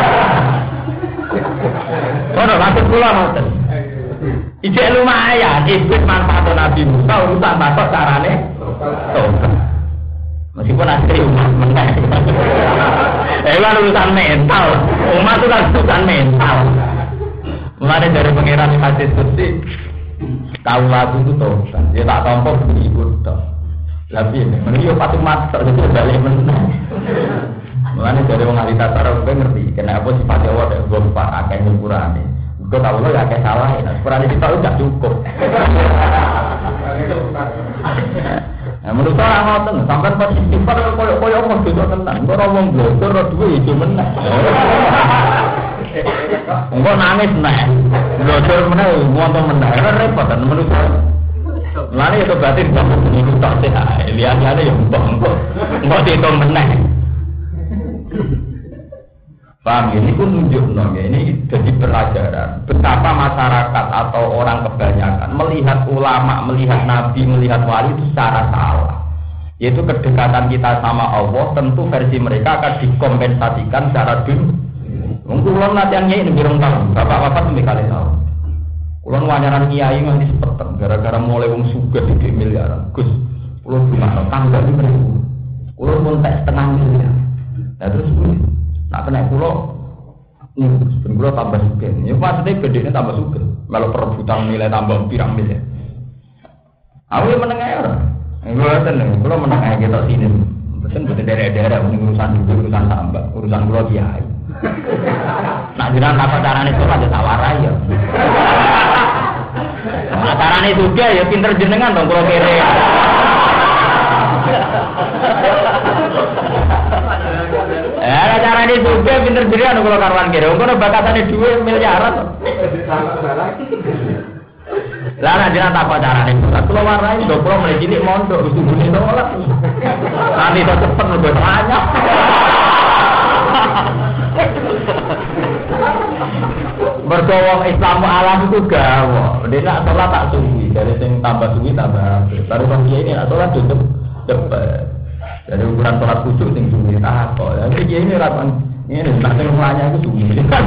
Kono maksud kula ngoten. Ijek lumayan, iblis manfaat Nabi Musa, urusan takut carane toga. Meskipun asli umat menang. Kan urusan mental, umat itu kan urusan mental. Mulai dari pengiran hadis kursi, tahu lagu itu tahu kan? Dia tak tampok ikut tahu. Tapi ini, menurut patu master itu balik menang. Mulai dari mengalih tasar, gue ngerti. Kenapa sifatnya Allah dan gue lupa akan ukurannya. Gue tahu lo ya kayak salah. Ukurannya kita udah cukup. Nah, menurut orang ngoten, sampai pas istighfar koyo Allah itu tenang. Gue ngomong blogger, dua itu menang. Enggak nangis nek. Blogger meneh ngono meneh. Repot kan menurut saya. Lane itu berarti kamu niku tak sehat. Lihat-lihat ya enggak dihitung meneh. Paham ini pun nunjukno ini jadi pelajaran betapa masyarakat atau orang kebanyakan melihat ulama, melihat nabi, melihat wali itu secara salah. Yaitu kedekatan kita sama Allah tentu versi mereka akan dikompensasikan secara dunia. Mungkin kulon latihan nyai ini birong tahun, bapak-bapak lebih kali tahu. Kulon wanyaran kiai nganti sepeten, gara-gara mulai wong sugih di miliaran. Gus, kulon gimana? Tangga ini beribu. Kulon pun tak setengah miliar. Nah terus nak kena kulon, kulon tambah sugih. Ya maksudnya bedanya tambah sugih. Kalau perebutan nilai tambah pirang miliar. Aku yang menengah orang. Kulon menengah kita sini. Pesen betul daerah-daerah urusan tambah, urusan kulon kiai. Nak jiran apa carane itu aja tawarai ya. Nah carane juga ya pinter jenengan dong kalau kere. Carane juga pinter jenengan kalau karuan kere. Engko bakatane dhuwit miliaran. Lah nak jiran apa carane? Kalau warai do kalau mulai cilik mondok usubune tolak. Nanti to cepet lebih banyak. Bergawang Islam alam itu gawa. Dia nak sholat tak suwi. Dari yang tambah suwi tambah. Baru kan dia ini nak sholat tutup depan. Dari ukuran sholat khusyuk yang suwi tak kok. Jadi dia ini rakan ini nak tenggelamnya itu suwi.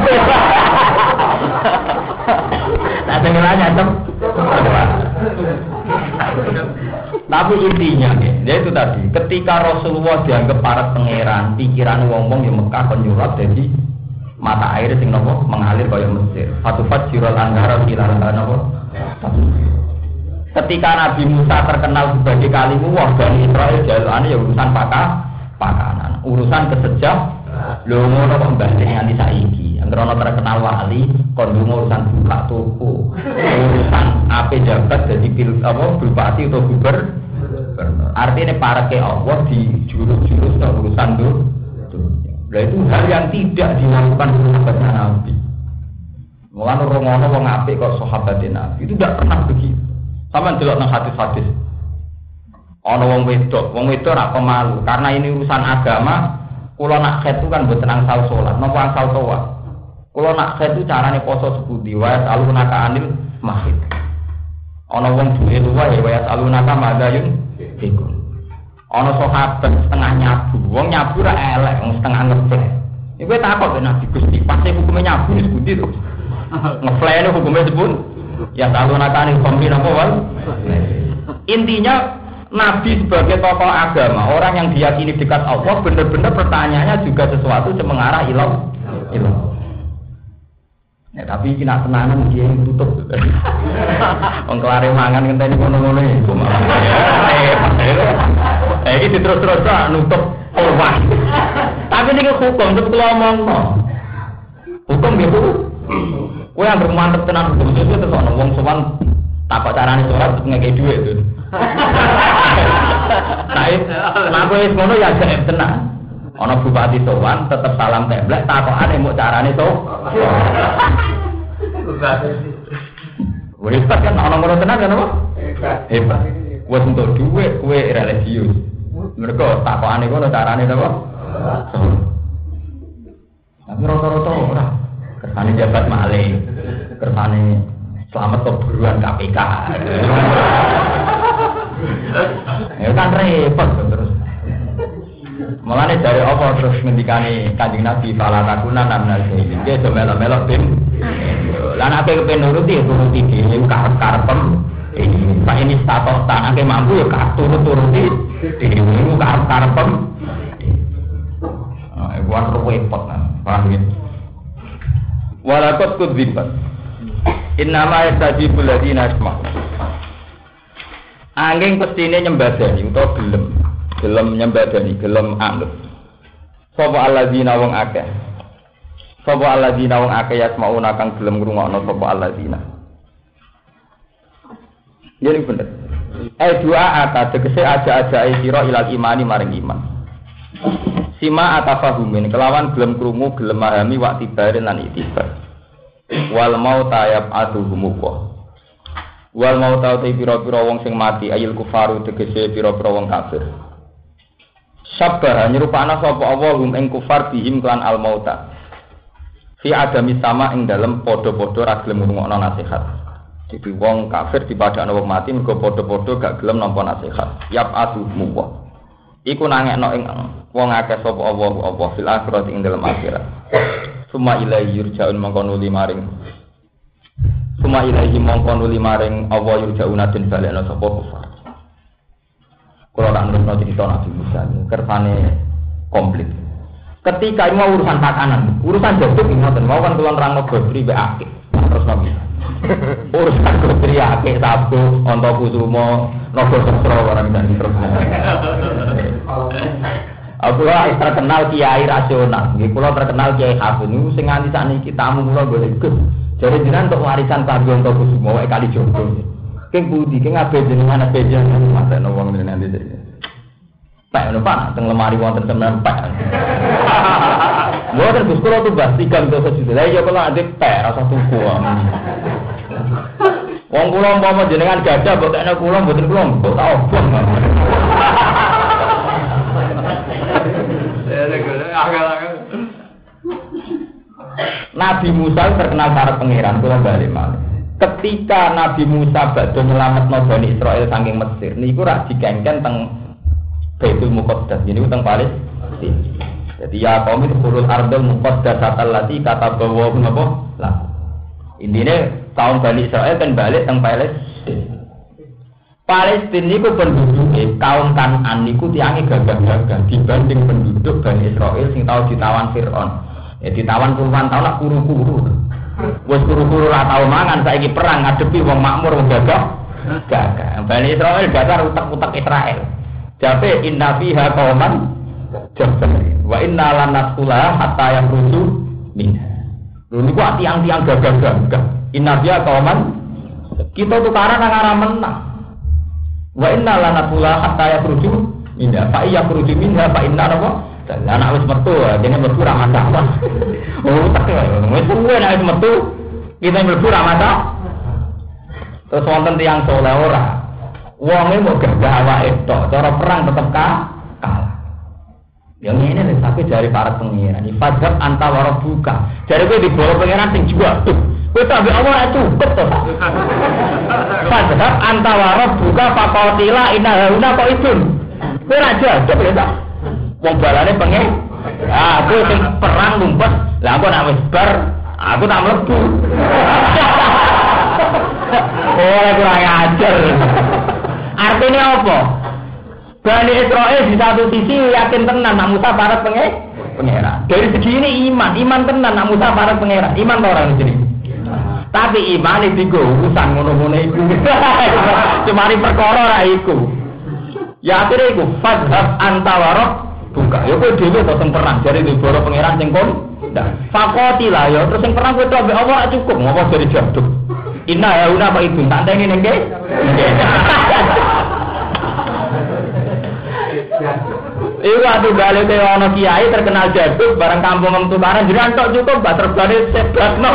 Nak tenggelamnya tem. Tapi intinya dia itu tadi. Ketika Rasulullah dianggap para pangeran, pikiran wong-wong yang Mekah penyurat jadi mata air sing nopo mengalir kaya Mesir. Fatufat jirul anhara ilaran nopo. Ketika Nabi Musa terkenal sebagai kalimuwah Bani Israil jalane ya urusan pakanan, urusan kesejah lho ngono kok mbah nganti saiki. Ngerono terkenal wali, kondungo urusan buka toko, urusan apa jabat jadi bupati atau gubernur. Artinya para ke Allah di jurus-jurus urusan itu. Nah itu hal yang tidak dilakukan sahabatnya Nabi. Mulane romono wong apik kok sahabatnya Nabi itu tidak pernah begitu. Sama delok nang hadis-hadis. Ana wong wedok ora pemalu karena ini urusan agama. Kula nak khet itu kan mboten angsal salat, napa angsal tawaf. Kula nak khet itu carane poso sepundi wae alunaka anil mahid. Ana wong duwe luwih wae alunaka madayun iku. Ana sahabat setengah nyabu, wong nyabu ra elek, wong setengah ngeplek. Iku takok ben Nabi Gusti, pasti hukume nyabu wis pundi to? Ngeplek hukume sepun? Ya alunaka anil khamri napa wae. Intinya Nabi sebagai tokoh agama, orang yang diyakini dekat Allah, benar-benar pertanyaannya juga sesuatu yang mengarah ilah. Ya, tapi ini nak tenanan dia yang tutup. Pengkelari mangan ngenteni ngono-ngono iku. Iki terus-terus nutup peluang. Tapi ini hukum tetep ngomongno. Hukum gitu. Kowe yang bermantep tenan hukum itu terus ana wong sowan takok carane sholat ngekek dhuwit itu. Nah kowe ngono ya jek tenan. Ana bupati sowan tetep salam templek takokane mbok carane to. Wis kan ana ngono tenan kan apa? Hebat. Wes entuk dhuwit kowe religius. Mergo takokane ngono carane to apa? Tapi rata-rata ora. Kersane jabat maling. Kersane selamat keburuan KPK. Ya kan repot terus. Mulane dari apa terus ngendikane Kanjeng Nabi fala takuna namnal jahilin. Ki do melok-melok bim. Lan ape kepen nuruti dhewe karep-karepem. Pak ini status tanake mampu ya turut-turuti dhewe karep-karepem. Iku kan repot nang. Paham ya? Walaqad kudzibat. Innama yastajibul ladina asma'. Angin pestine nyembadani utawa gelem nyembadani, gelem anut. Sapa alladzina wong akeh. Sapa alladzina wong akeh yasmauna kang gelem ngrungokno sapa alladzina. Jadi bener. Dua ata tegese aja-ajae sira ilal imani maring iman. Sima atafahumin kelawan gelem krungu, gelem mahami wa tibarin lan itibar. Wal mauta yab'atuhumullah. Wal mauta te pira-pira wong sing mati ayil kufaru tegese pira-pira wong kafir. Sabar nyerupana sapa Allah hum ing kufar bihim klan al mauta. Fi adami sama ing dalem padha-padha ra gelem ngrungokno nasihat. Jadi wong kafir dipadakno wong mati mergo padha-padha gak gelem nampa nasihat. Yab'atuhumullah. Iku nangekno ing wong akeh sapa Allah fil akhirat ing dalem akhirat. Suma ilahi yurja'un mongkonuli maring Suma ilahi mongkonuli maring Allah yurja'una den balekna sapa kufar. Kula tak nurutno cerita Nabi Musa kersane komplit. Ketika ini urusan pakanan, urusan jaduk ngoten mau kan kula nerangno Godri mbek akeh. Terus Nabi. Urusan Godri akeh sabu onto kusumo naga sastra barang dan terus. Aku terkenal kiai rasional, nggih kula terkenal kiai Habib niku sing nganti sakniki tamu kula golek Gus. Jare jenengan untuk warisan Kanggo Kusumo wae kali jogo. King budi king abe jenengan abe jenengan matekno wong nanti iki. Pak ono Pak teng lemari wonten temen Pak. Mboten Gus kula tuh bas 3 juta. Lah ya kula ade Pak rasa tuku. Wong kula umpama jenengan gajah mbok tekno kula mboten kula mbok tak obong. Nabi Musa terkenal para pangeran kula bali malih. Ketika Nabi Musa badhe nyelametno Bani Israil saking Mesir niku rak dikengken teng Baitul Muqaddas niku teng Palestina. Jadi ya kaum itu kulul ardul muqaddasat allati katabawa napa lah. Intine kaum Bani Israil kan balik teng Palestina. Palestina niku penduduke kaum Kan'an niku tiange gagah-gagah dibanding penduduk Bani Israil sing tau ditawan Firaun. Ya ditawan puluhan tahun nak kuru-kuru. Wes kuru-kuru ra tau mangan saiki perang ngadepi wong makmur wong gagah. Gagah. Bani Israil dasar utak-utak Israel. Jabe inna fiha qauman jabbarin wa inna lan nasula hatta yakhruju minha. Lho niku tiang-tiang gagah-gagah. Inna dia kauman kita tukaran nang arah menang. Wa inna lana pula hatta yakhruju minha fa yakhruju minha fa inna apa? Dan anak wis metu, dene mlebu ra masalah. Oh, tak wis suwe nek wis metu kita mlebu ra masalah. Terus wonten tiyang saleh ora. Wonge mau gagah awake tok, cara perang tetep kalah. Yang ini nih, tapi dari para pengiran. Ifadhab anta warabuka. Dari gue di bawah pengiran sing juga tuh. Gue tak ambil Allah cukup tuh. Ifadhab anta warabuka fakotila inna hauna kok idun. Gue raja, coba ya tak. Wong balane pengen. Ah, gue sing perang ngumpet. Lah aku nak wis bar, aku tak mlebu. Oh, kurang ajar. Artinya apa? Bani Israel di satu sisi yakin tenan nak Musa parat pengeran. Dari segi ini iman tenan nak Musa parat pengeran. Iman orang sini. Tapi iman itu urusan ngono-ngono iku. Cuma perkara ra iku. Ya akhire iku fadhab antawarok buka. Ya kowe dhewe to sing perang jare di boro pengeran sing kon. Fakoti lah ya terus sing perang kowe tok Allah cukup ngopo dari jaduk. Inna ya una apa itu tak teni ning nggih. Iku atuh balik ke ana kiai terkenal jaduk barang kampung tukaran jiran tok cukup gak terbalik sebabno.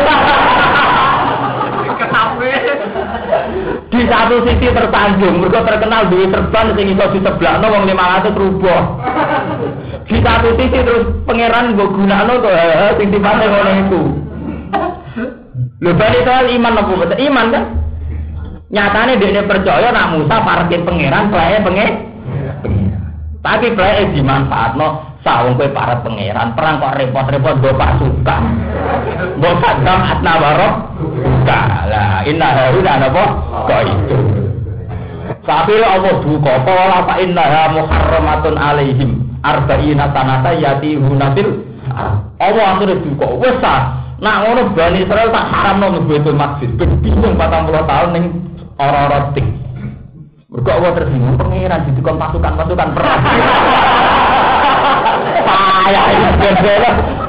Kesape. Di satu sisi tersanjung mergo terkenal duwe serban sing iso diseblakno wong 500 rubuh. Di satu sisi terus pangeran mbok gunakno to sing dipate ngono iku. Lho bali soal iman apa betul? Iman kan? Nyatane dekne percaya nak Musa parke pangeran plae pangeran. Tapi plae dimanfaatno sawung kowe para pangeran perang kok repot-repot go pasukan. Mbok kadang atna warok. Lah inna haruna apa? Kok itu. Tapi Allah duka pola fa innaha muharramatun alaihim arba'ina sanata yatihuna fil. Allah akhire duka wis nak ngono Bani Israel tak haramno mlebu masjid. Bingung 40 tahun ning ora-ora tik. Mergo Allah tersinggung pangeran didikon pasukan-pasukan perang. Payah iki bendera.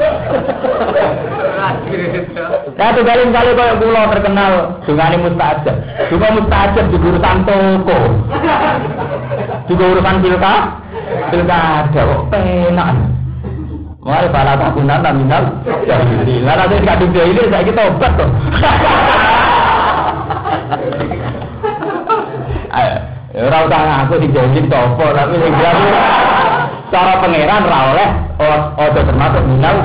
Satu kali koyo kula terkenal dungane mustajab. Juga mustajab di urusan toko. Juga urusan pilkada kok penak. Mari para takunan nominal. Jadi, lah nanti kadung dia ini saya kita obat tuh. Ayo, ora usah ngaku dijauhin topo, tapi sing jelas cara pangeran ra oleh ojo termasuk minal.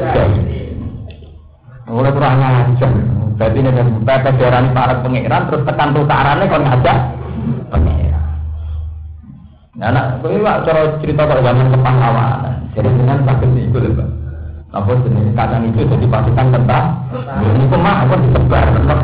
Ora kurang ajar. Berarti nek bapak diarani para pangeran terus tekan tukarane kon ngajak pangeran. Nah, nak kowe cara cerita kok zaman kepahlawanan. Jadi dengan sakit itu lho, Pak. Apa jenis kadang itu jadi pasukan tentara. Ini kemah kok disebar.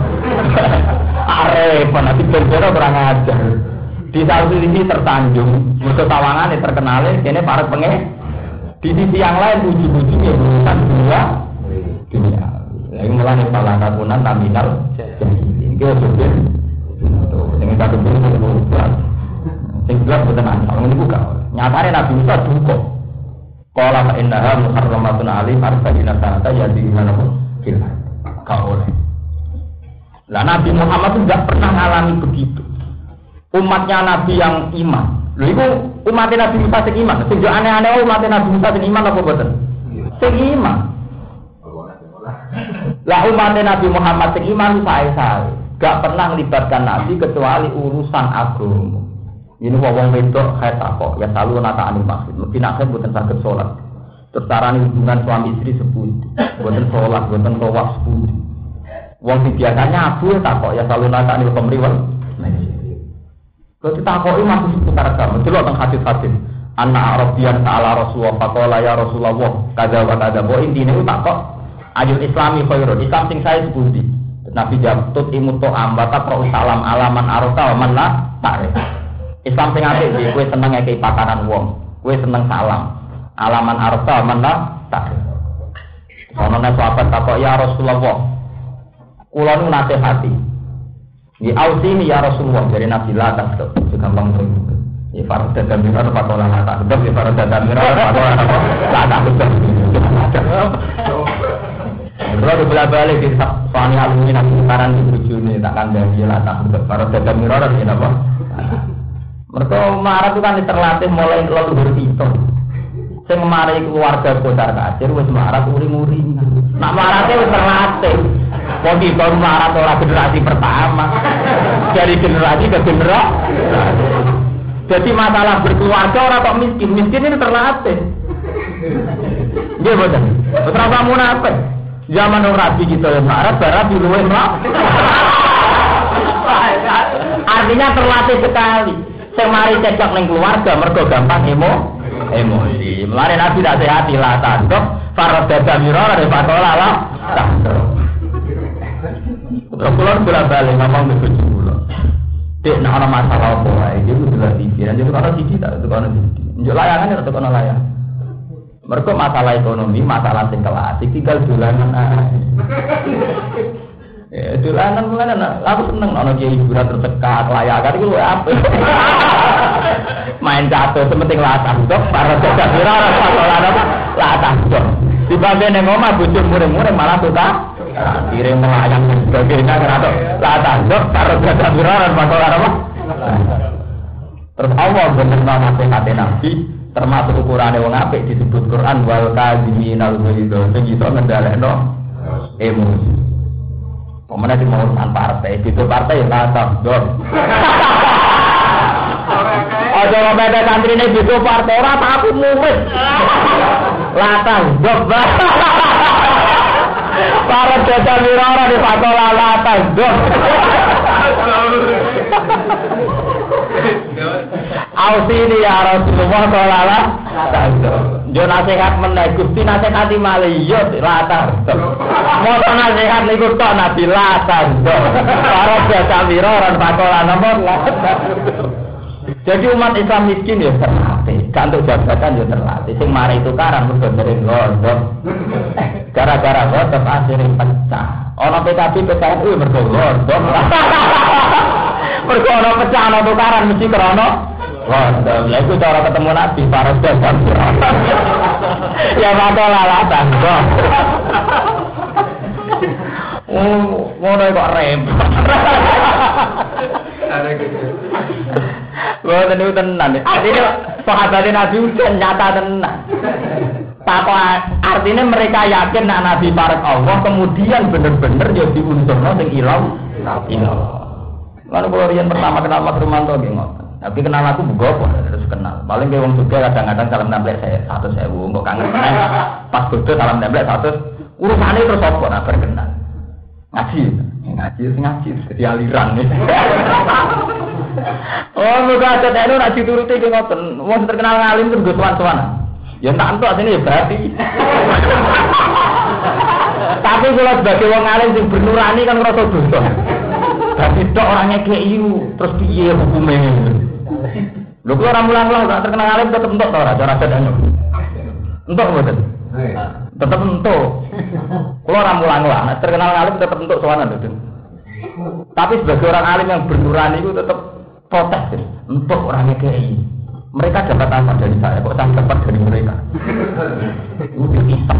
Arep nanti berbeda kurang ajar. Di satu sisi tersanjung, musuh tawangane terkenale kene para pengen. Di sisi yang lain uji-ujinya urusan dunia. Lagi mulai pala kagunan terminal. Ini kita sudah dengan satu bentuk berulang. Sing gelap boten ana, ini buka. Nyatane Nabi Musa duka. Qala fa innaha muharramatun 'alaihim arba'ina sanata yadina lahum fil kaul. Lah Nabi Muhammad itu enggak pernah alami begitu. Umatnya Nabi yang iman. Lho iku umatnya Nabi Musa sing iman. Sing aneh-aneh umatnya Nabi Musa sing iman apa boten? Sing iman. Lah umatnya Nabi Muhammad sing iman sae-sae. Enggak pernah melibatkan Nabi kecuali urusan agama. Ini wong wedok kaya takok ya selalu nata anil maksud. Mesti nak boten saged salat. Terus carane hubungan suami istri sepundi. Boten salat, boten tawaf sepundi. Wong sing biasanya abu takok ya selalu nata anil pemriwal. Kok ditakoki masih seputar agama. Delok teng hadis-hadis. Anna Arabiyan ta'ala Rasulullah faqala ya Rasulullah kadza wa kadza. Bo intine takok ajul islami khairun. Islam sing sae sepundi. Nabi jawab tut imut ambata pro salam alaman arota wa man la ta'rif. Islam sing apik iki kowe seneng ngekeki pakanan wong, kowe seneng salam. Alaman arta manla tak. Ono nek sahabat takok ya Rasulullah. Kula nu nasihati. Di ausini ya Rasulullah dari Nabi la tak gampang to. Ya farad dan mira apa to la tak. Sebab ya farad dan mira apa to la tak. Kalau bola-balik di soalnya alumni nanti sekarang di bujune tak kandani lah tak para dagang mirror ini apa? Mereka marah itu kan terlatih mulai leluhur kita. Sing mari keluarga Kocar Kacir wis marah uring-uring. Nak marah wis terlatih. Wong iki baru marah ora generasi pertama. Dari generasi ke generasi. Jadi masalah berkeluarga ora kok miskin ini terlatih. Nggih boten. Ora kamu munafik. Zaman Rabi kita yang marah, barat di luar marah. Artinya terlatih sekali. Sing mari cecok ning keluarga mergo gampang emosi. Mulane Nabi tak sehati lah tanduk, farad damirah re patola lah. Terus bola-balik ngomong ke bojo kula. Dek nek ana masalah apa wae iki kudu dipikiran jadi ana siji tak ana siji. Njuk layangan ora tekan layang. Mergo masalah ekonomi, masalah sing kelas iki tinggal dolanan ae. Dolanan mulane aku seneng ana kiai hiburan tercekat layakan iku apik. Main catur sementing latah dok para jaga viral pakolan apa latah dok dibanding nang omah bojo mureng-mureng malah suka kirim melayang sebagainya karo latah dok para jaga viral pakolan apa terus Allah bener nasihat Nabi termasuk ukurane wong apik disebut Quran wal kadhiminal ghaidha sing iso ngendhalekno emosi pemene di mau partai itu partai latah dok ada beda santri ini bisu partai ora aku murid latah dok para jasa mirara di patola latah dok ausini ya Rasulullah sallallahu jo nasihat meneh Gusti nasihati malih yo latah dok mau nasihat niku tok Nabi latah dok para jasa mirara patola nomor latah. Jadi umat Islam miskin ya terlatih, gak untuk jabatan ya terlatih. Sing mari tukaran mergo sering gondok. Gara-gara gondok akhirnya pecah. Ono PKB PKNU mergo gondok. Mergo ono pecah ono tukaran mesti krana gondok. Lha iku cara ketemu Nabi para dagang. Ya bakal lalatan kok. Ngono kok repot. Wah, itu tenan. Artinya sahabat Nabi udah nyata tenan. Artinya mereka yakin nak Nabi parek Allah, kemudian bener-bener ya diunsurno sing ilang. Lalu kalau riyen pertama kenal Mas Rumanto nggih ngoten. Tapi kenal aku bugo terus kenal. Paling ge wong juga kadang-kadang salam nempel saya 100.000 kok kangen meneh. Pas bodo salam nempel 100. Urusane terus apa nak berkenal. Ngaji jadi aliran nih. Oh, muga ada anu nak dituruti ki ngoten. Wong terkenal ngalim terus go sowan-sowan. Ya tak entuk asine ya berarti. Tapi kalau sebagai wong alim sing bernurani kan ngrasa dosa. Tapi tok orangnya KIU terus piye hukume. Lho kok ora mulang-mulang tak terkenal alim tetep entuk to ora cara sedane. Entuk mboten? Tetep entuk. Kalau ora mulang-mulang nek terkenal alim tetep entuk sowanan lho. Tapi sebagai orang alim yang bernurani itu tetap protes untuk orangnya KI. Mereka dapat apa dari saya? Kok saya dapat dari mereka? Itu kita.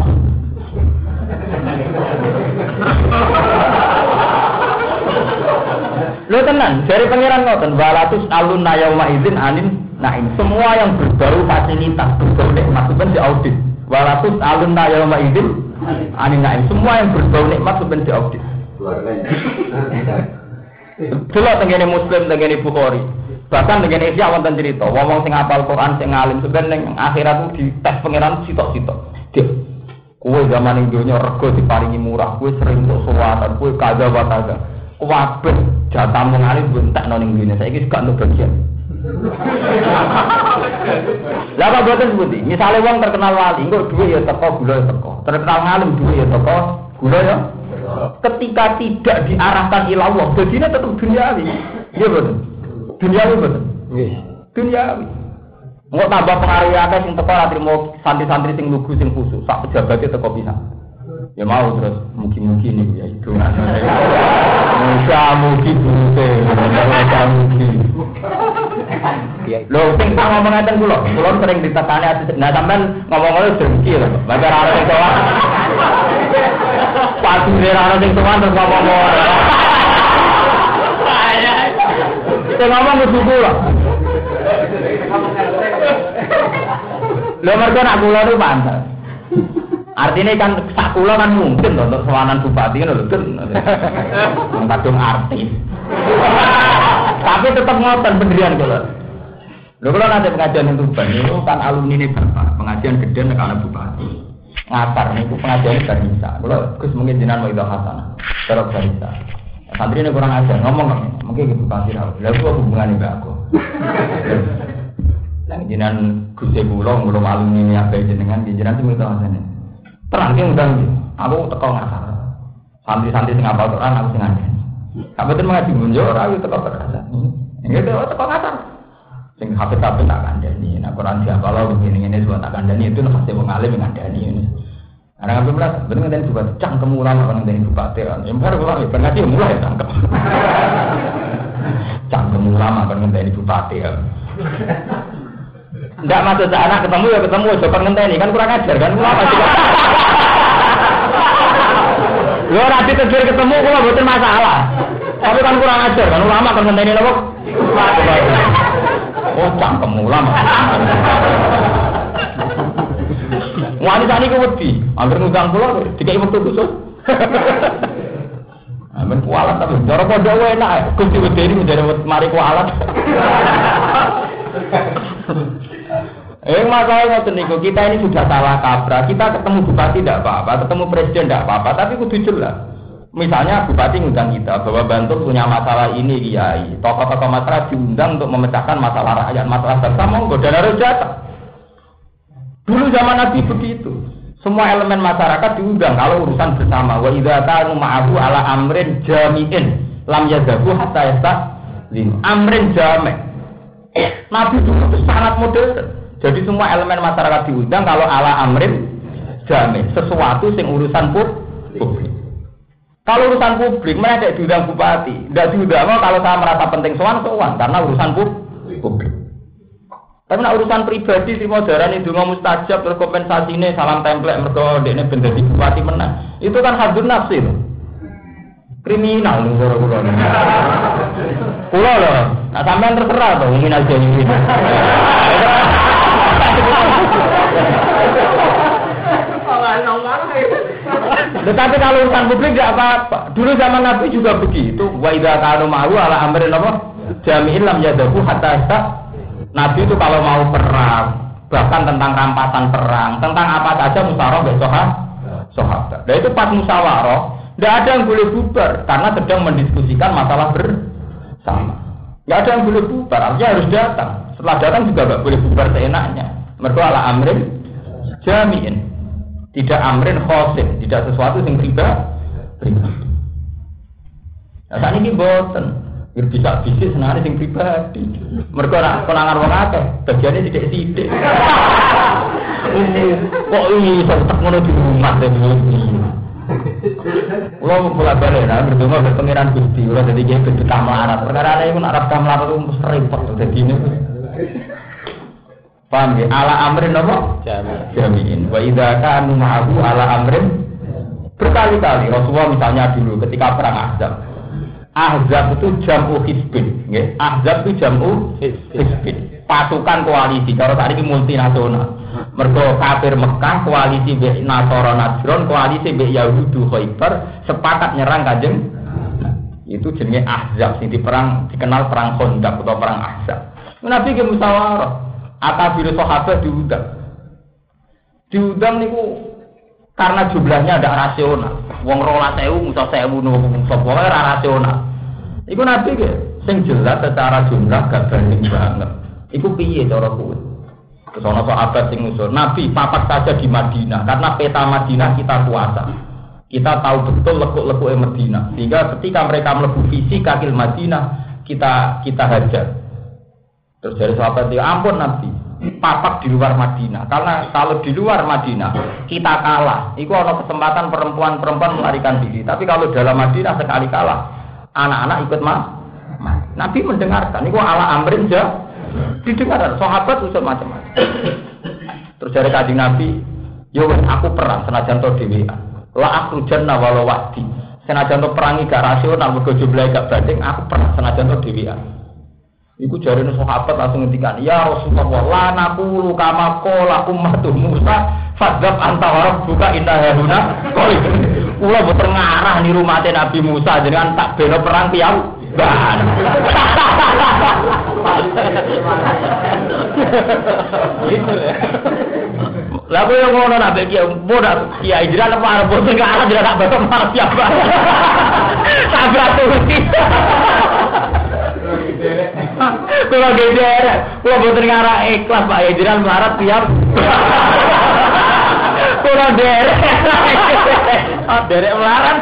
Lo tenang, dari pangeran ngoten, walatus alun nayauma izin anin naim. Semua yang berbau fasilitas, berbau nikmat itu di audit. Walatus alun nayauma izin anin naim. Semua yang berbau nikmat itu di audit. Delok tengene Muslim, tengene Bukhari. Bahkan tengene Isya wonten cerita, wong sing hafal Quran sing alim sebenarnya ning akhirat ku dites pangeran sitok-sitok. Dik, kowe zaman ning donya rego diparingi murah, kowe sering untuk suwatan, kowe kaza wa kaza. Kabeh jatahmu ngalim bentekno ning dene. Saiki gak ono bagian. Lah kok boten sebuti. Misale wong terkenal wali, engko dhuwit ya teko, gula ya teko. Terkenal ngalim dhuwit ya teko, gula ya. Ketika tidak diarahkan ila Allah, jadinya tetap duniawi. Iya betul. Duniawi betul. Duniawi. Nggak tambah pengaruh akeh sing teko ora trimo santri-santri sing lugu sing khusus, sak pejabate teko pisan. Ya mau terus mugi-mugi niku ya itu. Mugi bute. Lho sing tak ngomong ngaten kula sering ditekani ati. Nah sampean ngomong-ngomong dengki lho. Bagar arep kok. Padu rara sing tuan terus ngomong. Sing ngomong kudu kula. Lho mergo nak kula itu pantes. Artinya kan sak kula kan mungkin untuk sowanan bupati kan lho. Kadung artis. Tapi tetap ngoten pendirian kula. Lho kula nanti pengajian yang Tuban itu kan alumni ini Bapak, pengajian gede nek ana bupati. Ngatar niku pengajian barisa. Kula Gus mungkin jenengan mau itu hasanah. Terus barisa. Santri ini kurang ajar ngomong mungkin ibu bupati ra. Lha kok hubungane mbak aku. Lah jenengan Gus kula alumni ini apa jenengan jenengan sing itu hasanah. Terang ki undang aku teko ngasar. Santri-santri sing apal Quran aku sing ngandani. Kabeh mengaji munjo ora aku teko perasaan. Nggih teko ngasar. Sing hafid-hafid tak kandani. Nah Quran siapa lo begini-gini semua tak kandani itu pasti wong alim ngandani ini. Ana ngambil belas bener ngandani juga cangkem ulama kan ngandani bupati kan. Yang baru kok berarti mulai cangkem. Cangkem ulama kan ngandani bupati kan. Enggak masuk ke anak ketemu ya ketemu coba ngenteni kan kurang ajar kan ulama juga. Yo ora ditegur ketemu kula mboten masalah. Tapi kan kurang ajar kan ulama kan ngenteni lho. Oh cangkem ulama. Wanita ini wedi, hampir ngundang kula dikai wektu khusus. Amen kualat tapi cara pondok enak. Gusti wedeni menjadi mari kualat. Masalah ngoten niku kita ini sudah salah kaprah. Kita ketemu bupati tidak apa-apa, ketemu presiden tidak apa-apa, tapi kudu jelas. Misalnya bupati ngundang kita bahwa Bantul punya masalah ini kiai, tokoh-tokoh masyarakat diundang untuk memecahkan masalah rakyat, masalah bangsa monggo dan harus datang. Dulu zaman Nabi begitu. Semua elemen masyarakat diundang kalau urusan bersama. Wa idza kanu ma'ahu ala amrin jami'in lam yadhabu hatta yaslim. Amrin jami'. Nabi dulu itu sangat modern. Jadi semua elemen masyarakat diundang kalau ala amrin jami', sesuatu sing urusan publik. Kalau urusan publik, mereka tidak diundang bupati. Tidak diundang kalau saya merasa penting sowan karena urusan publik. Tapi nak urusan pribadi si modern itu ngomong mustajab terus kompensasi ini salam template mergo dekne ben dadi bupati menang. Itu kan hadun nafsi loh. Kriminal lho kula. Kula lho, nah sampean terserah to ingin aja ini. Tetapi kalau urusan publik tidak apa-apa. Dulu zaman Nabi juga begitu. Wa idza kanu ma'u ala amrin apa? Jami'in lam yadahu hatta Nabi itu kalau mau perang, bahkan tentang rampasan perang, tentang apa saja musyawarah besok sahabat. Dan itu pas musyawarah, tidak ada yang boleh bubar karena sedang mendiskusikan masalah bersama. Tidak ada yang boleh bubar, artinya harus datang. Setelah datang juga tidak boleh bubar seenaknya. Mergo ala amrin jami'in, tidak amrin khosin, tidak sesuatu yang pribadi. Nah, saat ini boten. Biar bisa bisnis senangnya sing pribadi. Mereka nak konangan wong akeh, bagiannya sidik-sidik. Kok ini tetap ngono di rumah deh ini. Kalau mulai balik, nah berdua berpengiran Gusti, udah jadi dia berduka melarat. Perkara ini pun Arab melarat itu mesti repot jadi ini. Paham ya? Ala amrin apa? Jami'in. Wa idza kanu ma'ahu ala amrin. Berkali-kali Rasulullah misalnya dulu ketika perang Ahzab. Ahzab itu jamu hizbin, nggih. Ahzab itu jamu hizbin. Pasukan koalisi, kalau saat ini multinasional. Mergo kafir Mekah koalisi mbek Nasara Najran, koalisi mbek Yahudi Khaibar sepakat nyerang Kanjeng. Itu jenenge Ahzab sing dikenal perang Khandaq atau perang Ahzab. Nabi ge musyawarah, akabir sahabat diundang. Diundang niku karena jumlahnya ada rasional. Wong 12.000 musa 1.000 nunggu sapa wae ora rasional. Iku Nabi ge sing jelas secara jumlah gak banding banget. Iku piye cara kuwi? Terus ana sahabat sing ngusul, Nabi papat saja di Madinah karena peta Madinah kita kuasa. Kita tahu betul lekuk-lekuke Madinah. Sehingga ketika mereka mlebu visi kaki Madinah, kita hajar. Terus dari sahabat dia, ampun Nabi, papak di luar Madinah. Karena kalau di luar Madinah kita kalah, itu ada kesempatan perempuan melarikan diri. Tapi kalau dalam Madinah sekali kalah, anak-anak ikut Nabi mendengarkan. Itu ala amrin didengar. Sahabat usul macam-macam. Terus dari Kanjeng Nabi, yo aku perang senajan to dhewean. La akhrujanna walau wahdi. Senajan to perangi gak rasional mergo jumlahe gak banding, aku perang senajan to dhewean. Iku jarene sahabat langsung ngendikan, "Ya Rasulullah, la naqulu kama qala ummatu Musa, fadzab anta wa rabbuka inna hauna qali." Kula boten ngarah niru mate Nabi Musa jenengan tak bela perang piyam. Ban. Lah kok ngono nak iki bodak kiai jiran apa arep boten ngarah jiran tak bapak marah siapa. Sabra tuh. Kalau geder, kalau boten ngarah ikhlas Pak Yediran melarat tiap. Kalau derek, derek melarat.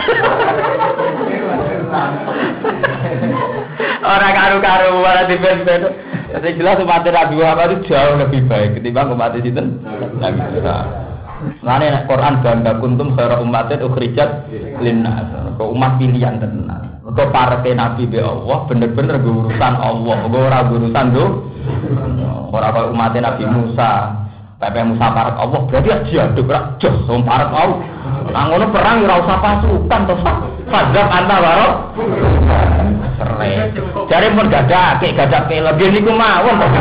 Orang karu-karu malah dibet-bet. Jadi jelas umat Nabi Muhammad itu jauh lebih baik ketimbang umat sinten Nabi Musa. Lane nek Quran bangga kuntum khairu ummatin ukhrijat linnas. Kok umat pilihan tenan. Kok parete Nabi be Allah bener-bener urusan Allah, ora urusan do. Ora kaya umat Nabi Musa. Pepe Musa parek Allah berarti diaduk ra jos wong parek Allah. Lah ngono perang ora usah pasukan to, Fadzab anta waro. Sere. Jare mun gadake lagi niku mawon to.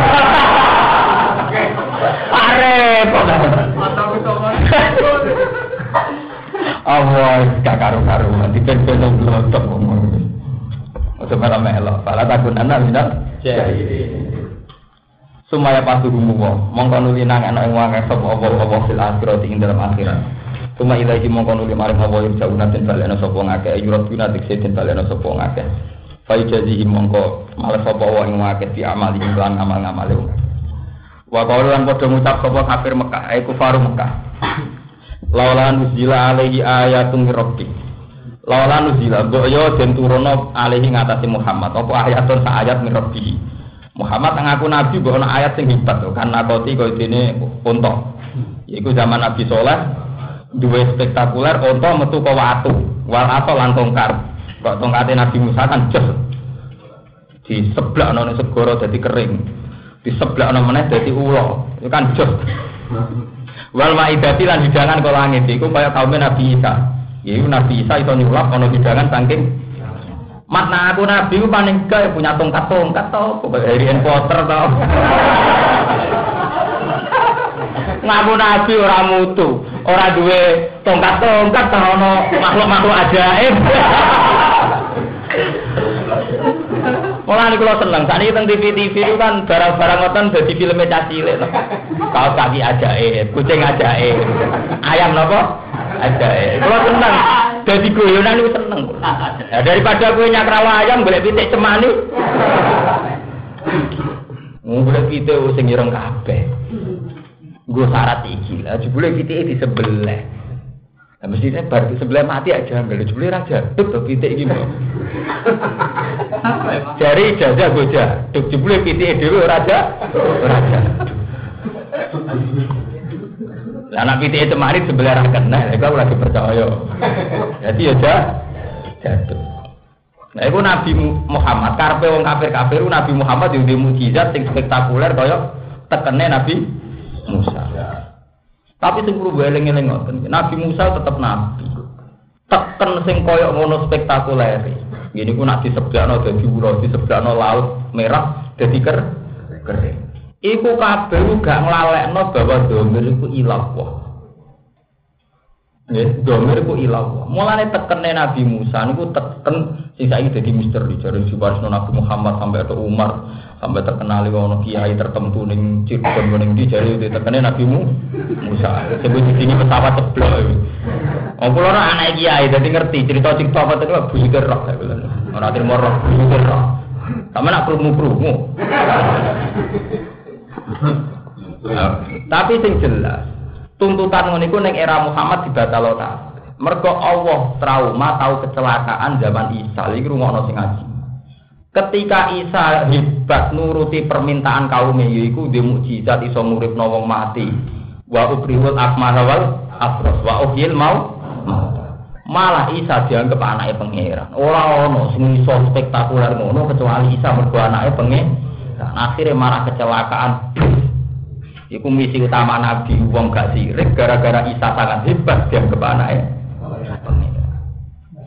Arep kok. Allah gak karu-karuan dipen-pen blotok ngomong. Ojo melo-melo, pala takun anak minat. Sumaya pasurumu mongko nuli nang ana ing wong esop apa-apa fil akhirat ing dalam akhirat. Suma ilahi mongko nuli maring apa ing jauna den balena sapa ngakeh yurat guna dikse den balena sapa ngakeh. Fa jazihi mongko males sapa wae ing ngakeh di amal ing lan amal-amale. Wa qaululan padha ngucap sapa kafir Mekah, kufaru Mekah. Laulan uzila alaihi ayatun rabbi. Laulan uzila boyo den turono alaihi ngatasi Muhammad apa ayatun sa ayat min rabbi. Muhammad ngaku nabi mbok ana ayat sing hebat kan nakoti koyo dene unta. Iku zaman Nabi Saleh duwe spektakuler unta metu ke watu, wal atau lan tongkat. Kok tongkate Nabi Musa kan jos. Diseblakno ning segara dadi kering. Diseblakno meneh dadi ula. Iku kan jos. Wal maidati lan hidangan ke langit iku kaya kaum Nabi Isa. Iku Nabi Isa iso nyulap ana hidangan saking makna aku Nabi ku paling gak punya tongkat-tongkat tau, Harry Potter tau. Ngaku Nabi ora mutu, ora duwe tongkat-tongkat tau ono makhluk-makhluk ajaib. Mulane kula seneng, sakniki teng TV itu kan barang-barang ngoten dadi filme cah cilik to. Kaos kaki ajaib, kucing ajaib. Ayam napa? Ajaib. Kula seneng. Dadi guyonan niku seneng. Ya daripada kowe nyakrawa ayam golek pitik cemani. Golek pitik sing ireng kabeh. Nggo syarat iki. Lah jebule pitike disebelah. Lah mestine bar disebelah mati aja nggak jebule raja. Tuk pitik iki mbok. Jari ijazah goja. Tuk jebule pitike dhewe raja. Lah anak pitike cemari sebelah ra kena, lha kok ora dipercaya. Dadi ya jatuh. Nah iku Nabi Muhammad karepe wong kafir-kafir Nabi Muhammad yo duwe mukjizat sing spektakuler kaya tekene Nabi Musa. Tapi sing perlu eling-eling ngoten, Nabi Musa tetep nabi. Teken sing kaya ngono spektakuler. Ngene ku nek diseblakno dadi ura, diseblakno laut merah dadi kering. Iku kabeh gak nglalekno bahwa domir iku ilah wae. Nggih, domir iku ilah wae. Mulane tekene Nabi Musa niku teken sing saiki dadi misteri jare Subarsno Nabi Muhammad sampai ke Umar, sampai terkenal ono kiai tertentu ning Cirebon ning ndi jare tekene Nabi Musa. Sebut iki pesawat ceblok. Wong kula ora anak kiai dadi ngerti cerita-cerita apa itu buyute roh kaya ngono. Ora trimo roh buyute roh. Sampe nak krungu-krungu. Tapi sing jelas tuntutan ngono iku ning era Muhammad dibatalo ta. Mergo Allah trauma tahu kecelakaan zaman Isa iki rumono sing ngaji. Ketika Isa hebat nuruti permintaan kaumnya yaiku dhe mukjizat iso nguripno wong mati. Wa ubrihul akmaha wal abras wa uhyil mau. Malah Isa dianggap anake pangeran. Ora ono sing iso spektakuler ngono kecuali Isa mergo anake pangeran. Akhirnya marah kecelakaan. Iku misi utama Nabi wong gak sirik gara-gara Isa sangat hebat dianggap anake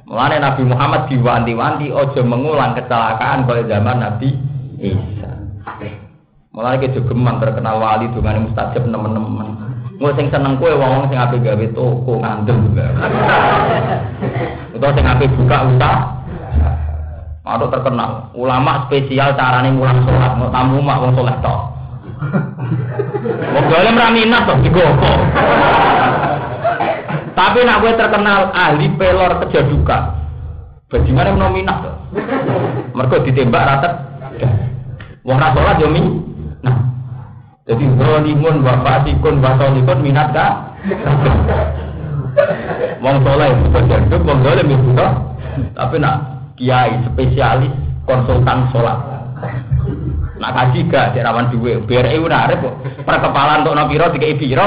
Mulane Nabi Muhammad diwanti-wanti aja mengulang kecelakaan kaya zaman Nabi Isa. Mulane ke jogeman terkenal wali dongane mustajab nemen-nemen. Engko sing seneng kowe wong sing ape gawe toko ngandel juga. Utawa sing ape buka usaha. Ada terkenal ulama spesial carane mulang salat, mau tamu mak wong saleh tok. Wong dalem ra minat to digopo. Tapi nak kowe terkenal ahli pelor kejaduka. Bagaimana ono minat to? Mergo ditembak rata. Wong ra salat yo nah. Jadi zalimun wa fasikun wa salikun minat ka? Wong saleh kejaduk wong dalem yo tapi nak kiai spesialis konsultan sholat. Nak kaji gak dirawan duwe, BRI udah arep kok. Perkepalan untuk nopiro dikei piro.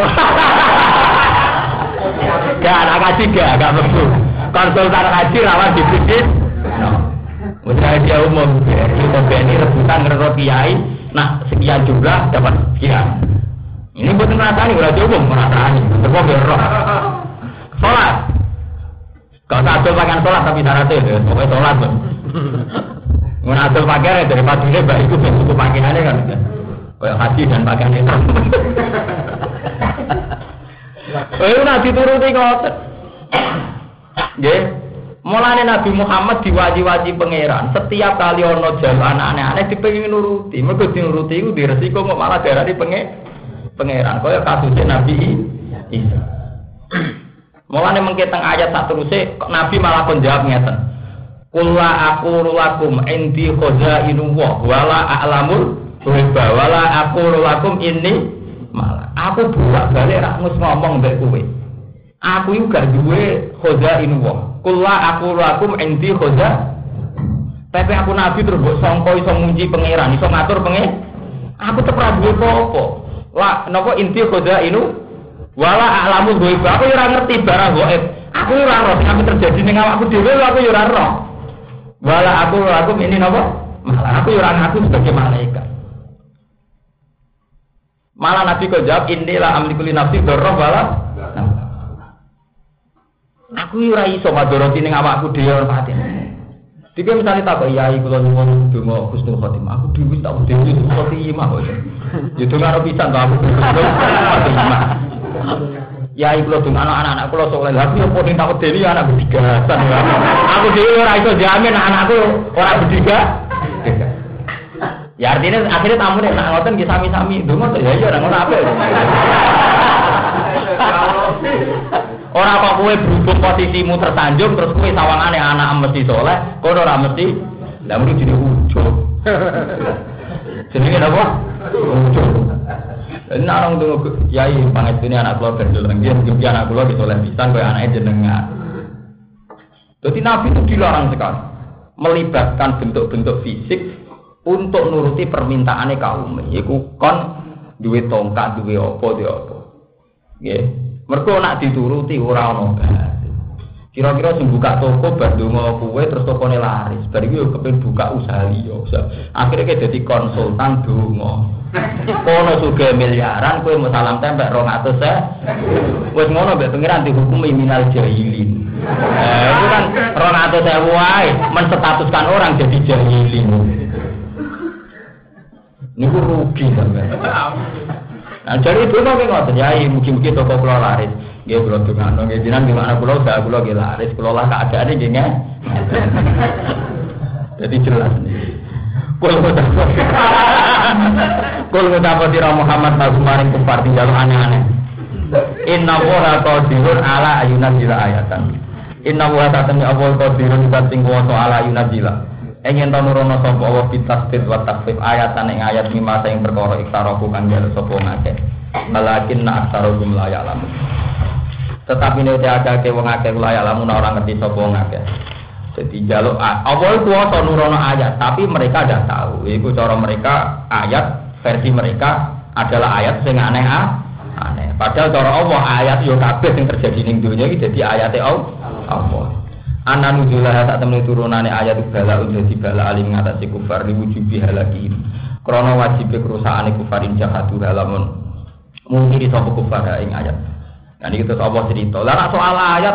Gak nak kaji gak mlebu. Konsultan kaji rawan dipikir. Usaha dia umum BRI rebutan ngerot kiai, nah sekian jumlah dapat sekian. Ini buat ngerasani, udah umum ngerasani. Terus biar roh. Sholat. Kau tak adil pakaian sholat tapi syaratnya, pokoknya sholat pun. Nggak adil pakaiannya dari padunya mbak itu bentuk pakaiannya kan, kayak haji dan pakaiannya. Itu nanti turuti ngotot. Gak, mulanya Nabi Muhammad diwaji-waji pangeran. Setiap kali ono jalan aneh-aneh dipengin nuruti, mereka dinuruti itu diresiko kok malah darah di pangeran. Kayak kasusnya Nabi Isa. Mulane mengke teng ayat sak teruse Nabi malah kon jawab ngeten. Qul la aqulu lakum indi khazainullah wala a'lamul ghaiba wala aqulu lakum inni malah. Aku bolak-balik ra ngomong mbek kowe. Aku iku gak duwe khazainullah. Qul la aqulu lakum indi khaza. Tapi aku Nabi terus mbok sangka iso munji pangeran, iso ngatur pangeran. Aku tetep ra duwe apa-apa. Lah napa inti khazainu wala a'lamu ghaib. Aku ora ngerti barang ghaib. Aku ora roh sing terjadi ning awakku dhewe, aku ora roh. Wala aku ini napa? Malah aku ora ngaku sebagai malaikat. Malah Nabi kok jawab inilah amliku li nafsi dzarra wala. Aku ora iso madharati ning awakku dhewe ora pati. Dike misale tak kok yai kula nyuwun donga husnul khotimah. Aku dhewe tak dhewe husnul khotimah kok. Ya donga ora pisan to aku husnul khotimah. Ya iku lho anak-anak kula soleh. Lah aku yo podo tak wedeni anak bedigasan. Aku dhewe ora iso jamin anakku ora bediga. Ya artinya akhirnya tamu nek nak ngoten nggih sami-sami ndonga to ya iya ora ngono apik. Ora kok kowe berhubung posisimu tersanjung terus kowe sawangane anak mesti soleh, kono ora mesti. Lah mesti jenenge ujug. Jenenge apa? Ujug. Nek orang tuh yai pangestune anak kula ben deleng nggih anak kula bisa oleh pisan koyo anake jenengan. Dadi Nabi itu dilarang sekali melibatkan bentuk-bentuk fisik untuk nuruti permintaane kaum. Iku kon duwe tongkat, duwe apa, duwe apa. Nggih. Mergo nek dituruti ora ono gas. Kira-kira sing buka toko bar ndonga kowe terus tokone laris. Bar iki yo kepengin buka usaha liya. Akhire dadi konsultan donga. Kono juga miliaran kowe mau salam tempel 200.000. Wis ngono mbek pengiran dihukumi minal jahilin. Itu kan 200.000 wae menstatuskan orang jadi jahilin. Niku rugi sampean. Nah, jadi itu kok ngoten ya, mugi-mugi toko kula laris. Nggih kula dongano nggih jenengan gimana kula usaha kula nggih laris, kula lah keadaane nggih nggih. Jadi jelas nih. Kul ngucapati Muhammad maring kufar tinggal aneh-aneh. Inna wa qadirun ala ayunazila ayatan. Inna wa ta'ala Allah qadirun sing kuwasa ala ayunazila. Yen ta nurono sapa wa bitasdid wa takfif ayatan ing ayat 5 sing perkara iktaraku kang jare sapa ngakeh. Walakin aktsaruhum la ya'lamun. Tetapi nek akeh wong akeh la ya'lamun ora ngerti sapa ngakeh. Jadi jaluk apa kuwasa nurono ayat tapi mereka tidak tahu. Iku cara mereka ayat versi mereka adalah ayat sing aneh. Padahal cara Allah ayat yo kabeh sing terjadi ning dunya iki dadi ayate Allah. Ana nujulah sak temene turunane ayat bala dadi bala alim ngatasi kufar diwujubi halaki. Krana wajib kerusakane kufarin jahatu halamun. Mungkin sapa kufar ing ayat. Nah iki terus Allah cerita. Lah soal ayat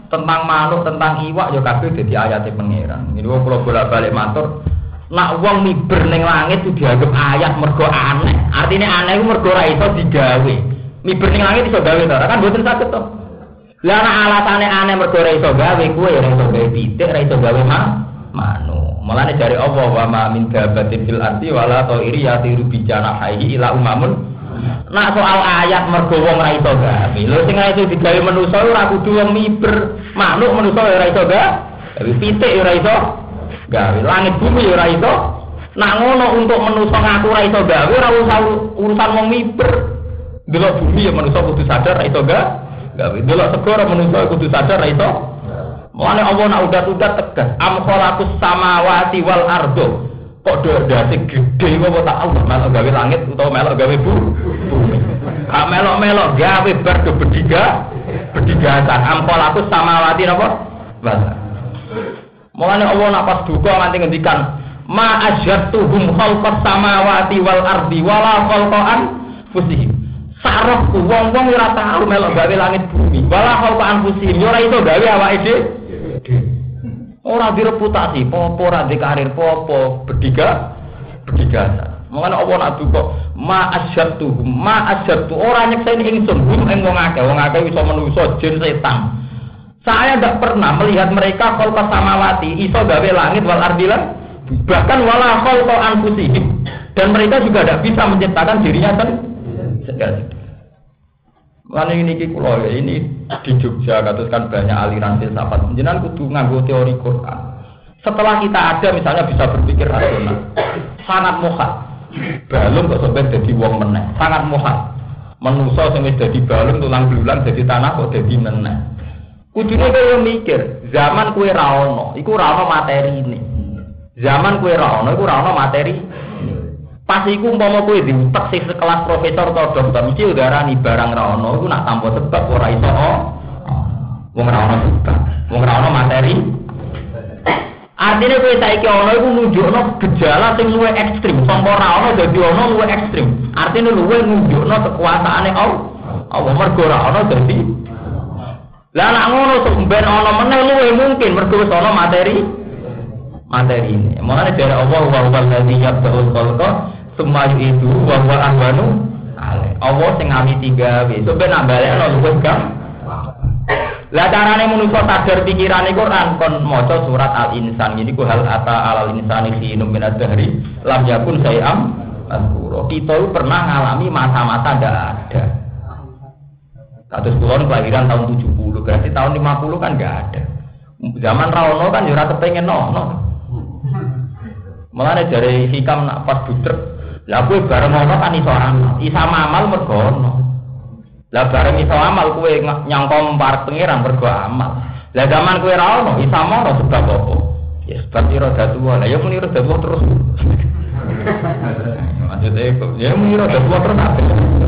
tentang manuk, tentang iwak ya kabeh dadi ayate pangeran. Niku kula bolak-balik matur, nak wong miber ning langit itu dianggap ayat mergo aneh. Artine aneh iku mergo ora iso digawe. Miber ning langit iso gawe ta? Kan mboten saged to. Lah nek alasane aneh mergo ora iso gawe, kuwe ora iso gawe pitik, ora iso gawe manuk. Mulane jare Allah wa ma min dabatin fil ardi wala ta'iri yatiru bi janahihi ila umamun. Nak soal ayat mergo wong ora iso gawe. Lho sing ora iso digawe manusa ora kudu wong miber. Manuk manusa ora iso gawe. Pitik ora iso gawe. Langit bumi ora iso. Nak ngono untuk manusa ngaku ora iso gawe ora usah urusan wong miber. Delok bumi ya manusa kudu sadar ora iso gawe. Delok segara manusa kudu sadar ora iso. Mulane Allah nak udah tegas. Am khalaqus samawati wal ardo. Kok dadi gede kok tak Allah melok gawe langit utawa melok gawe bumi. Ha melok gawe bar do bedigasan. Ampol aku samawati napa? Basa. Mulane Allah nak pas duka nganti ngendikan ma asyatuhum khalqas samawati wal ardi wala khalqan fusihim. Sarahku wong-wong ora tau melok gawe langit bumi. Wala khalqan fusihim ora iso gawe awake dhewe. Ora direputasi, popo ora di karir popo, bedigasan. Mengene apa nak duka, ma asyatu ora nyekseni ingsun, ing wong akeh iso manusa, jin setan. Saya tidak pernah melihat mereka khalqa samawati, iso gawe langit wal ardilan, bahkan wala khalqa anfusihim. Dan mereka juga tidak bisa menciptakan dirinya sendiri. Lan ini kula ini di Jogja katuskan banyak aliran filsafat. Jenengan kudu nganggo teori Quran. Setelah kita ada misalnya bisa berpikir rasional. Sangat muhal. Balung kok sampai dadi wong meneh. Sangat muhal. Manusa sing wis dadi balung tulang belulang dadi tanah kok dadi meneh. Kudune kowe mikir, zaman kowe ra ono, iku ra ono materine. Zaman kowe ra ono, iku ra ono materi. Pas iku umpama kowe diutek sing sekelas profesor atau dokter mesti udarani barang ra ono iku nak tanpa sebab ora iso. Wong ra ono sebab, wong ra ono materi. Artinya kowe saiki ono iku nunjukno gejala sing luwih ekstrem, sangka ra ono dadi ono luwih ekstrem. Artinya luwih nunjukno kekuasaane Allah mergo ra ono dadi. Lah nek ngono sumber ono meneh luwih mungkin mergo wis ono materi ini. Mulane dari Allah wa huwal ladzi yabda'ul khalqa tsumma yu'idu wa huwa ahwanu alaihi. Allah sing ngawiti gawe, sok ben ambalekno luwih gampang. Lah carane manusa sadar pikirane Quran kon maca surat Al-Insan iki ku hal ata alal insani khinum min ad-dahri lam yakun syai'am mazkura. Kita itu pernah ngalami masa-masa ndak ada. Kados kula kelahiran tahun 70, berarti tahun 50 kan enggak ada. Zaman ra ono kan ya ora kepengin ono. Mulane dari hikam nak pas budrek, lah kowe bareng ono kan iso amal, isa amal mergo ono. Lah bareng iso amal kowe nyangka parek pangeran mergo amal. Lah zaman kowe ra ono, isa mono sebab apa? Ya sebab roda tua. Lah ya muni roda tua terus. Maksudnya ya muni roda tua terus apa?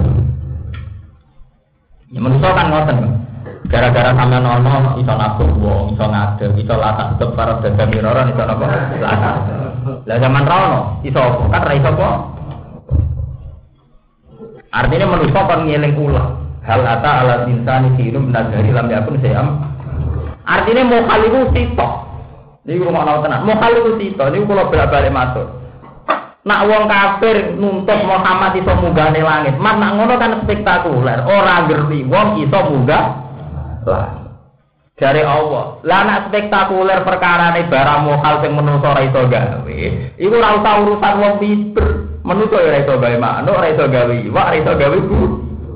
Ya manusia kan ngoten. Gara-gara sampean ono iso nabung wong, iso ngadeg, iso latah tetep para dagang miroran iso napa? Latah. Lah zaman ra ono, iso kan ra iso apa? Artinya manusia kon ngeling ulah. Hal ata ala insani hirum nadari lam yakun sayam. Artinya mokal iku sitok. Niku rumah tenan. Mokal iku sitok. Niku kula bolak-balik matur. Nak wong kafir nuntut Muhammad iso munggahne langit. Mas nak ngono kan spektakuler. Ora ngerti wong iso munggah langit. Dari Allah. Lah nak spektakuler perkarane barang mokal sing menungso ora iso gawe. Iku ora usah urusan wong miber. Menungso ora iso gawe manuk, ora iso gawe iwak, ora iso gawe bumi.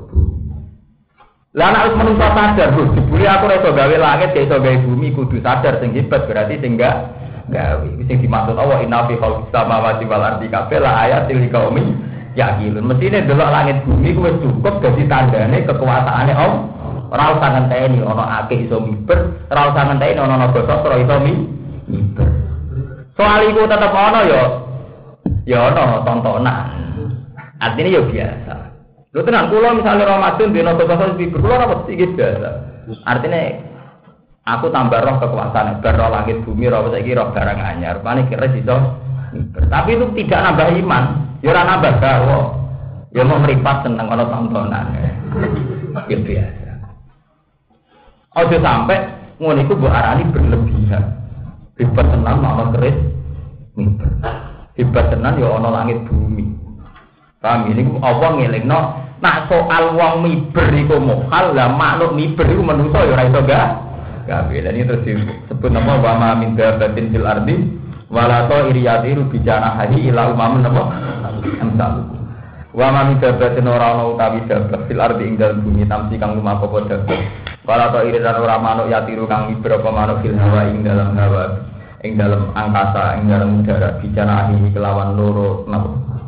Lah nek menungso sadar, Bro, dibuli aku ora iso gawe langit, gak iso gawe bumi, kudu sadar sing hebat berarti sing enggak gawe. Sing dimaksud Allah inna fi khalqis samawati wal ardi la ayatil liqaumin yaqilun. Mestine delok langit bumi kuwi cukup dadi tandane kekuasaane Allah. Ora usah ngenteni ana akeh iso miber, ora usah ngenteni ana naga sastra iso miber. Soal iku tetep ana ya ana tontonan. Artinya ya biasa. Lho tenan kula misalnya Ramadan dina kosong miber kula ora mesti biasa. Artinya aku tambah roh kekuasaan, roh langit bumi, roh saiki roh barang anyar. Pane kira iso miber. Tapi itu tidak nambah iman, ya ora nambah gawe. Ya mau meripat seneng ana tontonan. Ya biasa. Ojo sampai ngono iku mbok arani berlebihan. Hebat tenan ana keris mimbar. Hebat tenan ya ana langit bumi. Paham ini apa ngelingno nak soal wong miber iku mohal lah makhluk miber iku menungso ya ora iso gawe. Lan iki terus disebut nama wa ma min dabatin fil ardi wala ta'iriyatiru bijana hadi ila umamun apa amsal. Wa ma min dabatin ora ana utawi dabat fil ardi ing dalem bumi tamsi kang lumaku padha. Wala ta'iriran ora manuk yatiru kang miber apa manuk fil hawa ing dalam hawa ing dalam angkasa ing dalam udara bijana hadi kelawan loro napa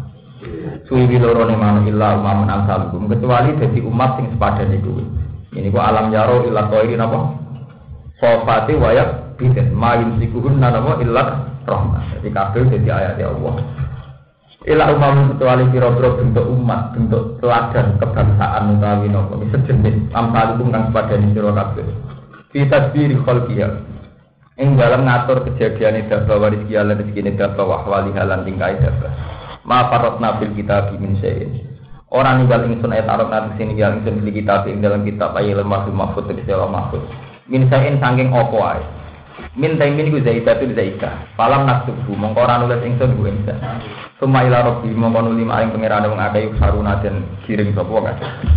suwi loro ne manuk illa umamun amsal kecuali dadi umat sing sepadane kuwi. Ini ku alam yaro illa ta'iri napa sofati wayak biden mayum sikuhun nanamu illat rahmat. Jadi kabel jadi ayat Allah. Ilah umam kecuali kira-kira bentuk umat, bentuk teladan kebangsaan utawi nopo sejenis amsalukum kang sepadane sira kabeh. Fi tadbiri khalqiyah. Ing dalam ngatur kejadiane daba waris kiya lan rezekine daba wa ahwali halan tingkai daba. Ma faratna bil kitab min syai'in. Ora ninggal ingsun ayat arep nang sini yang ingsun bil kitab ing dalam kitab ayat mahfuz di dalam mahfuz. Min sain saking opo ae. Min taimin ku zaidatul zaika. Falam naktubu mongko ora nulis ingsun ku ingsun. Suma ila rabbi mongko nuli maring pangeran wong akeh saruna den giring sapa wae.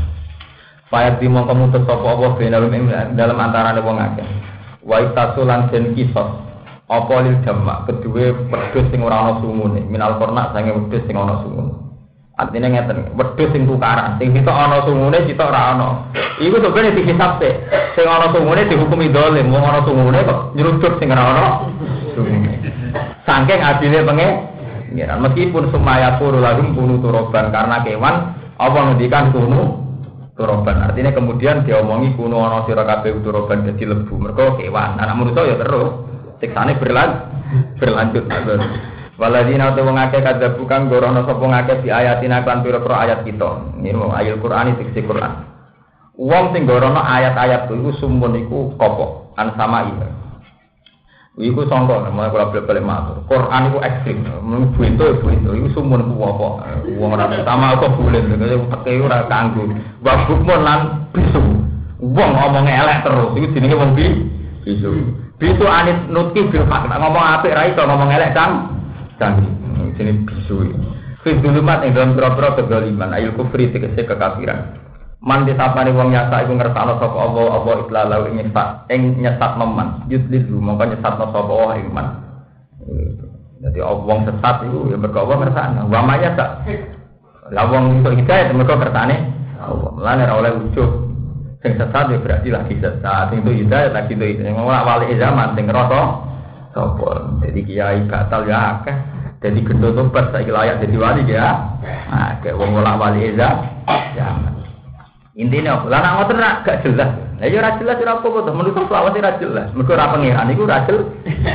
Fayat di mongko mutus sapa apa benalum ing dalam antarane wong akeh. Wa itasulan den kisos. Apa lil jamak kedue wedhus sing ora ana sungune. Minal kornak sange wedhus sing ana sungune. Artinya ngeten, wedhus sing tukaran, sing sitok ana sungune sitok ora ana. Iku sebenarnya dikisap sik. Sing ana sungune dihukumi dolim, wong ana sungune kok nyeruduk sing ora ana sungune. Saking adile pengen, meskipun sumaya puru lagum kunu turoban karena kewan apa ngendikan kunu turoban. Artinya kemudian diomongi kunu ana sira kabeh turoban dadi lebu. Mergo kewan, anak manusa ya terus siksane berlanjut. Waladina tu wong akeh kadzab kang gorono sapa ngakeh di ayatina kan pira-pira ayat kita. Ini ayat Quran iki Quran. Wong sing gorono ayat-ayat iku sumun iku kopok an sama iya. Iku sangka mulai kula balik matur. Quran iku ekstrim. Mun buento iku sumun ku apa? Wong ora utama kok boleh pakai ora kanggo. Babuk mon lan bisu. Wong ngomong elek terus iku jenenge wong bisu. Bisu anit nutki bil hak ngomong apik ra iso ngomong elek kan. Canggih, jenis bisu. Fidulumat yang dalam pura-pura kegaliman, ayul kufri tegese kekafiran. Man disapani wong nyasa iku ngersakno sapa Allah iklalau ing nyesat meman. Yudlilu mongko nyesatno sapa Allah ing man. Dadi wong sesat iku ya mergo Allah ngersakno. Wa maya sak. Lah wong iso hidayah mergo kersane Allah. Lan ora oleh ujug. Sing sesat ya berarti lagi sesat. Sing itu hidayah lagi itu ora wali zaman sing ngerasa sapa. Jadi kiai batal ya akeh. Jadi gendho tobat saiki layak dadi wali ya. Akeh wong ora wali zaman. Intine apa? Lah nek ngoten gak jelas. Lah ya ora jelas ora apa-apa to. Menurut selawat ora jelas. Mergo ora pengiran iku ora jelas.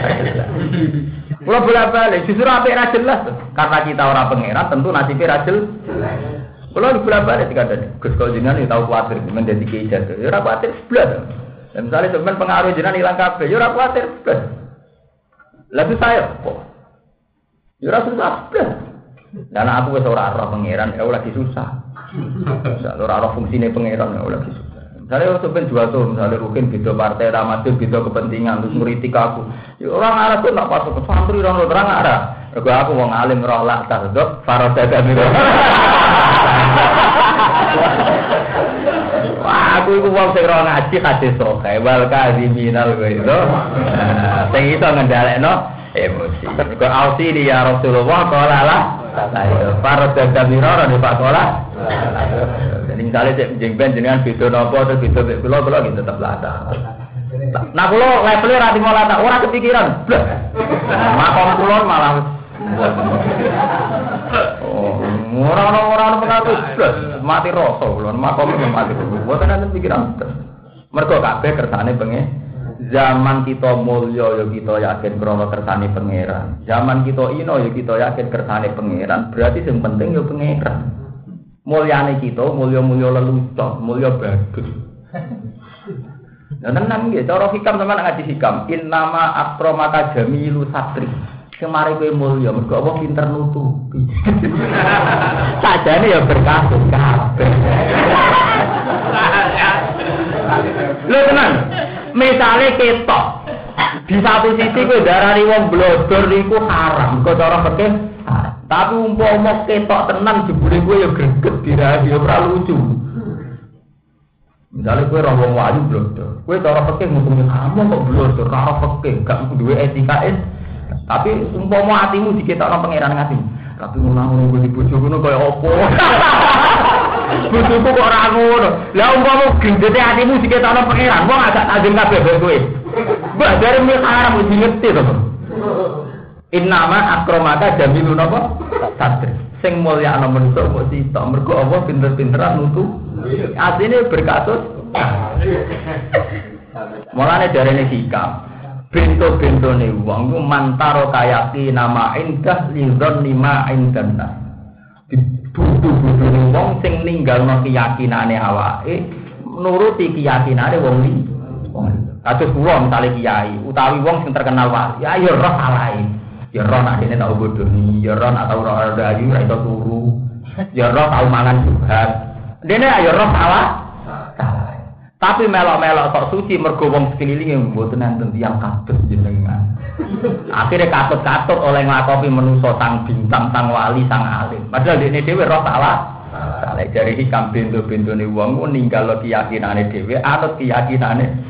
Kula bolak-balik justru apik ora jelas. Karena kita ora pengiran tentu nasibnya ora jelas. Kula bolak-balik dikandani. Gus kok jenengan tau kuwatir menjadi kiai jatuh. Ya ora kuwatir blas. Dan misalnya sampean pengaruh jenengan ilang kabeh, ya ora kuwatir blas. Lah saya kok. Ya ora susah blas. Dan aku wis ora roh pengiran, ya lagi susah. Ora roh fungsine pangeran ora bisa. Misalnya sampeyan jual tuh, misalnya Rukin beda partai, Ramadhan beda kepentingan, terus ngritik aku. Ya orang arah tuh nak pasuk santri orang terang arah. Mergo aku wong alim roh lak tardok, farada kamiro. Wah, aku iku wong sing ora ngaji hadis sok, wal kadziminal itu. Sing iso ngendhalekno emosi. Mergo ausi ya Rasulullah qala lah. Farada kamiro ora dipakola. Jadi misalnya cek jengben jenengan video nopo atau video kula gitu tetap lata. Nah kula levelnya rati mau lata, orang kepikiran. Makom kula malah. Orang pengaruh mati rasa kula, makom mati. Bukan ada pikiran. Mergo kabeh kersane pengen. Zaman kita mulya ya kita yakin krana kersane pangeran. Zaman kita ino ya kita yakin kersane pangeran. Berarti yang penting ya pangeran. Mulyane kita, mulya-mulya lelucon, mulya bagus. Nah, tenan nggih, cara hikam sampeyan ngaji hikam. Innama akramaka jamilu satri. Kemari kowe mulya, mergo apa pinter nutupi. Sajane ya berkasus kabeh. Lho tenan. Misale ketok. Di satu sisi kowe darani wong blodor iku haram, kok cara fikih. Tapi umpama ketok tenan jebule kowe ya greget dirahi ya ora lucu. Misale kowe ora wong wayu blodor, kowe cara fikih ngomong kamu kok blodor karo fikih gak duwe etika. Tapi umpama atimu diketokno pangeran ngatimu. Tapi ngono kuwi bojo ngono kaya apa? Bojoku kok ora ngono. Lah umpama gendete atimu diketokno pangeran, wong agak tajeng kabeh kowe. Mbah dari haram wis ngerti to. Innama akramaka jamilun apa? Satri. Sing mulyakno manusa kok sitok mergo apa pinter-pinteran nutu. Asline berkasus. Mulane darene hikam. Bento-bentone wong ku mantaro kayaki nama indah lidzon lima indana. Butuh-butuhne wong sing ninggalno keyakinane awake nuruti keyakinane wong liya. Kados kula misale kiai utawi wong sing terkenal wali, ya roh salahe. Ya roh nek dene tau bodoni, ya roh nek tau ora ayu ra iso turu. Ya roh tau mangan juhat. Dene ya roh salah. Tapi melok-melok kok suci mergo wong sekelilinge mboten enten tiyang kados jenengan. Akhire katut-katut oleh nglakopi manusa sang bintang, sang wali, sang alim. Padahal dene dhewe roh salah. Salah dari hikam bento-bentone wong ku ninggal keyakinane dhewe, anut keyakinane.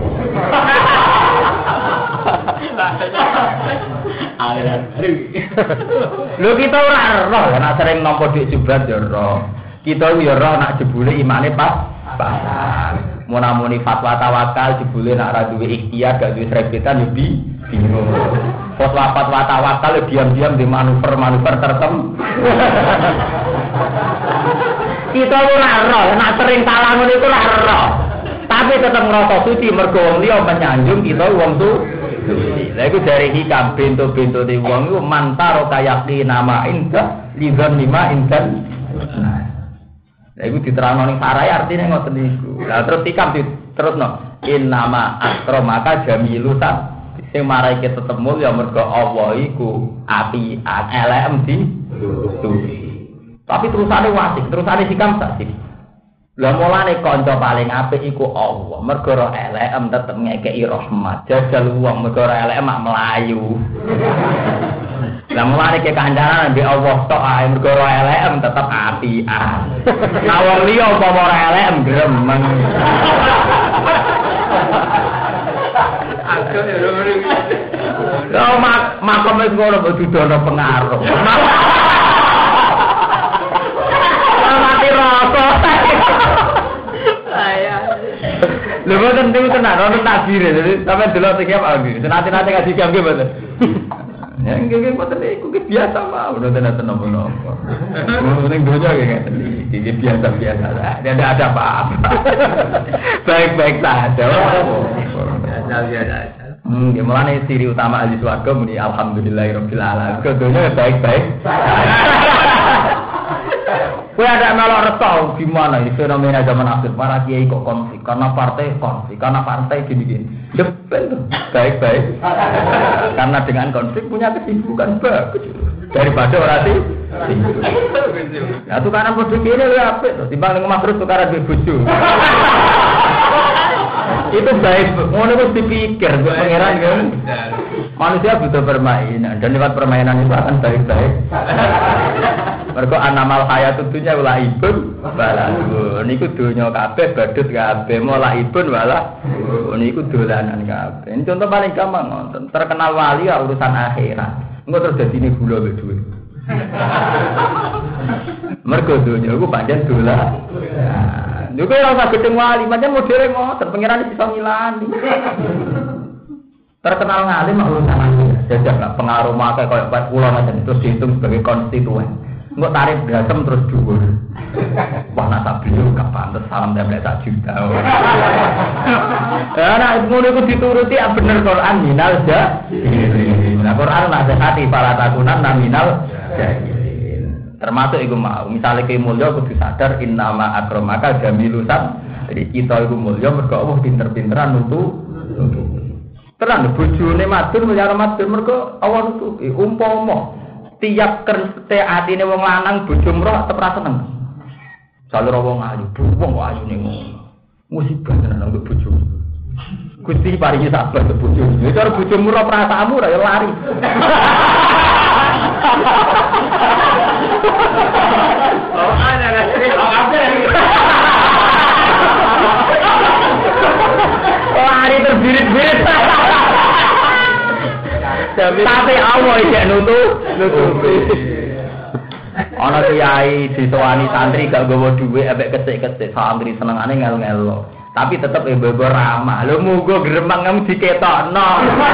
Lho kita ora roh nek sering nampa dik jubrat ya roh. Kita ya roh nek jebule imane pas. Munamuni fatwa tawakal jebule nek ora duwe ikhtiar gak duwe srebetan yo bingung. Fatwa tawakal diam-diam di manuver tertentu. Kita ora roh nek sering salah ngono iku ora roh. Tapi tetap ngerasa suci mergo wong liya menyanjung kita wong suci. Lha iku dari hikam bento-bento di wong iku mantaro kayaki nama indah lidzon lima indan. Lha iku diterangno ning sarai artine ngoten niku. Lah terus hikam diterusno innama akramaka jamilutan. Sing marai kita tetep mulya mergo Allah iku api elem di suci. Tapi terusane wasik, terusane hikam sak. Lah mulane kanca paling apik iku Allah. Mergo ora elek tetep ngekeki rahmat. Jajal wong mergo ora elek mak melayu. Lah mulane ke kancanan mbek Allah tok ae mergo ora elek tetep apian. Lah wong liya umpama ora elek gremeng. Aku ya ora. Lah makom wis ngono kok dudono pengaruh. Mati rasa. Lho boten niku tenan ono takbir jadi sampe delok iki apa iki. Senate-nate kasih jam nggih boten. Ya nggih boten iku biasa mawon tenan napa-napa. Ning donya nggih iki biasa-biasa. Tidak ada apa-apa. Baik-baik saja. Biasa-biasa. Nggih mulane ciri utama ahli swarga muni alhamdulillahirabbil alamin. Donya baik-baik. Kowe ada melok reso gimana ini fenomena zaman akhir para kiai kok konflik karena partai gini-gini. Ya betul, baik-baik. Karena dengan konflik punya kesibukan bagus daripada orang sih. Ya tukaran bojo kene lho apik, timbang ning omah terus tukaran bojo. Itu baik, ngono wis dipikir kok pangeran kan. Manusia butuh permainan dan lewat permainan itu akan baik-baik. Mergo anamal hayatud dunya wala ibun wala niku donya kabeh badut kabeh mola ibun wala niku dolanan kabeh. Ini contoh paling gampang ngoten. Terkenal wali ya urusan akhirat. Engko terus dadine gula mbek dhuwit. Mergo donya iku pancen dolan. Lho kok ora usah gedeng wali, pancen modele ngoten, pangeran iso ngilani. Terkenal ngalim urusan akhirat. Jajak pengaruh make koyo pas kula macam terus dihitung sebagai konstituen. Nggak tarif berasem terus dhuwur. Wah nasa beliau gak pantes salam template 1 juta. Nah ngono iku dituruti bener Quran minal jahilin. Nah Quran nasihati para takunan minal jahilin. Termasuk iku mau misale ke mulya kudu sadar innama akramaka jamilusan. Jadi kita iku mulya mergo Allah pinter-pinteran nutu. Terang bojone matur mulya matur mergo Allah nutupi umpama tiap kerste atine wong lanang bojo mroh tetep ra seneng. Jalur wong ayu, wong ayu ning ngono. Musibah tenan untuk bojo. Gusti paringi sabar ke bojomu. Itu cara bojomu ora perasaanmu ora ya lari. Oh, ada. Lari terbirit-birit. Tapi Allah iki nutupi. Ana kiai disowani santri gak nggawa dhuwit ambek kecik-kecik santri senengane ngel-ngelo. Tapi tetep ibu ramah. Lho muga gremeng kamu diketokno.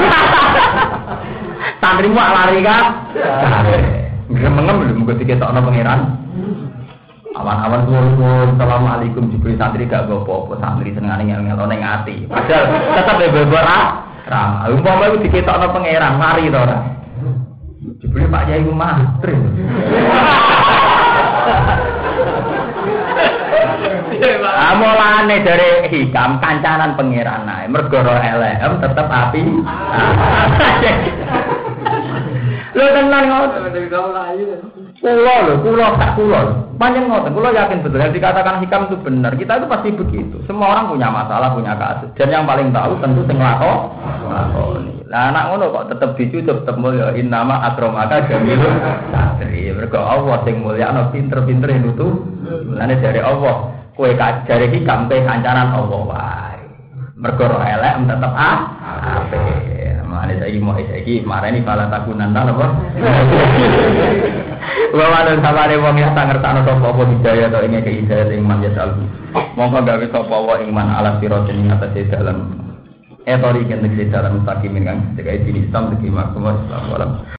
Santrimu lari kan? Gremeng lho muga diketokno pangeran. Awan-awan suwun assalamualaikum diberi santri gak apa-apa santri senengane ngel-ngelo ning ati. Padahal tetep ibu ramah. Umpama iku diketokno pangeran mari to ora. Diberi Pak Yai ku mantri. Amolane dari hikam kancanan pangeran ae mergo ora elek tetep api. Lho tenan ngoten. Kula tak kula. Panjang ngoten, kula yakin betul yang dikatakan hikam itu benar. Kita itu pasti begitu. Semua orang punya masalah, punya kasus. Dan yang paling tahu tentu sing lakoni. Lah anak ngono kok tetep dicucup tetep mulya innama akramaka jamilun satri. Mergo Allah sing mulya ana pinter-pinter nutu. Mulane dari Allah kowe kajare hikam pe kancanan Allah wae. Mergo ora elek tetep apik. Mulane saiki marani bala takunan ta napa? Wawan sabare wong ya tak ngertakno sapa apa hidayah to ing hidayah ing man yasal. Monggo gawe sapa wa ing man ala siratin ing atase dalan. Etori kentek dalan mustaqim kan sebagai Islam segi maksud Islam.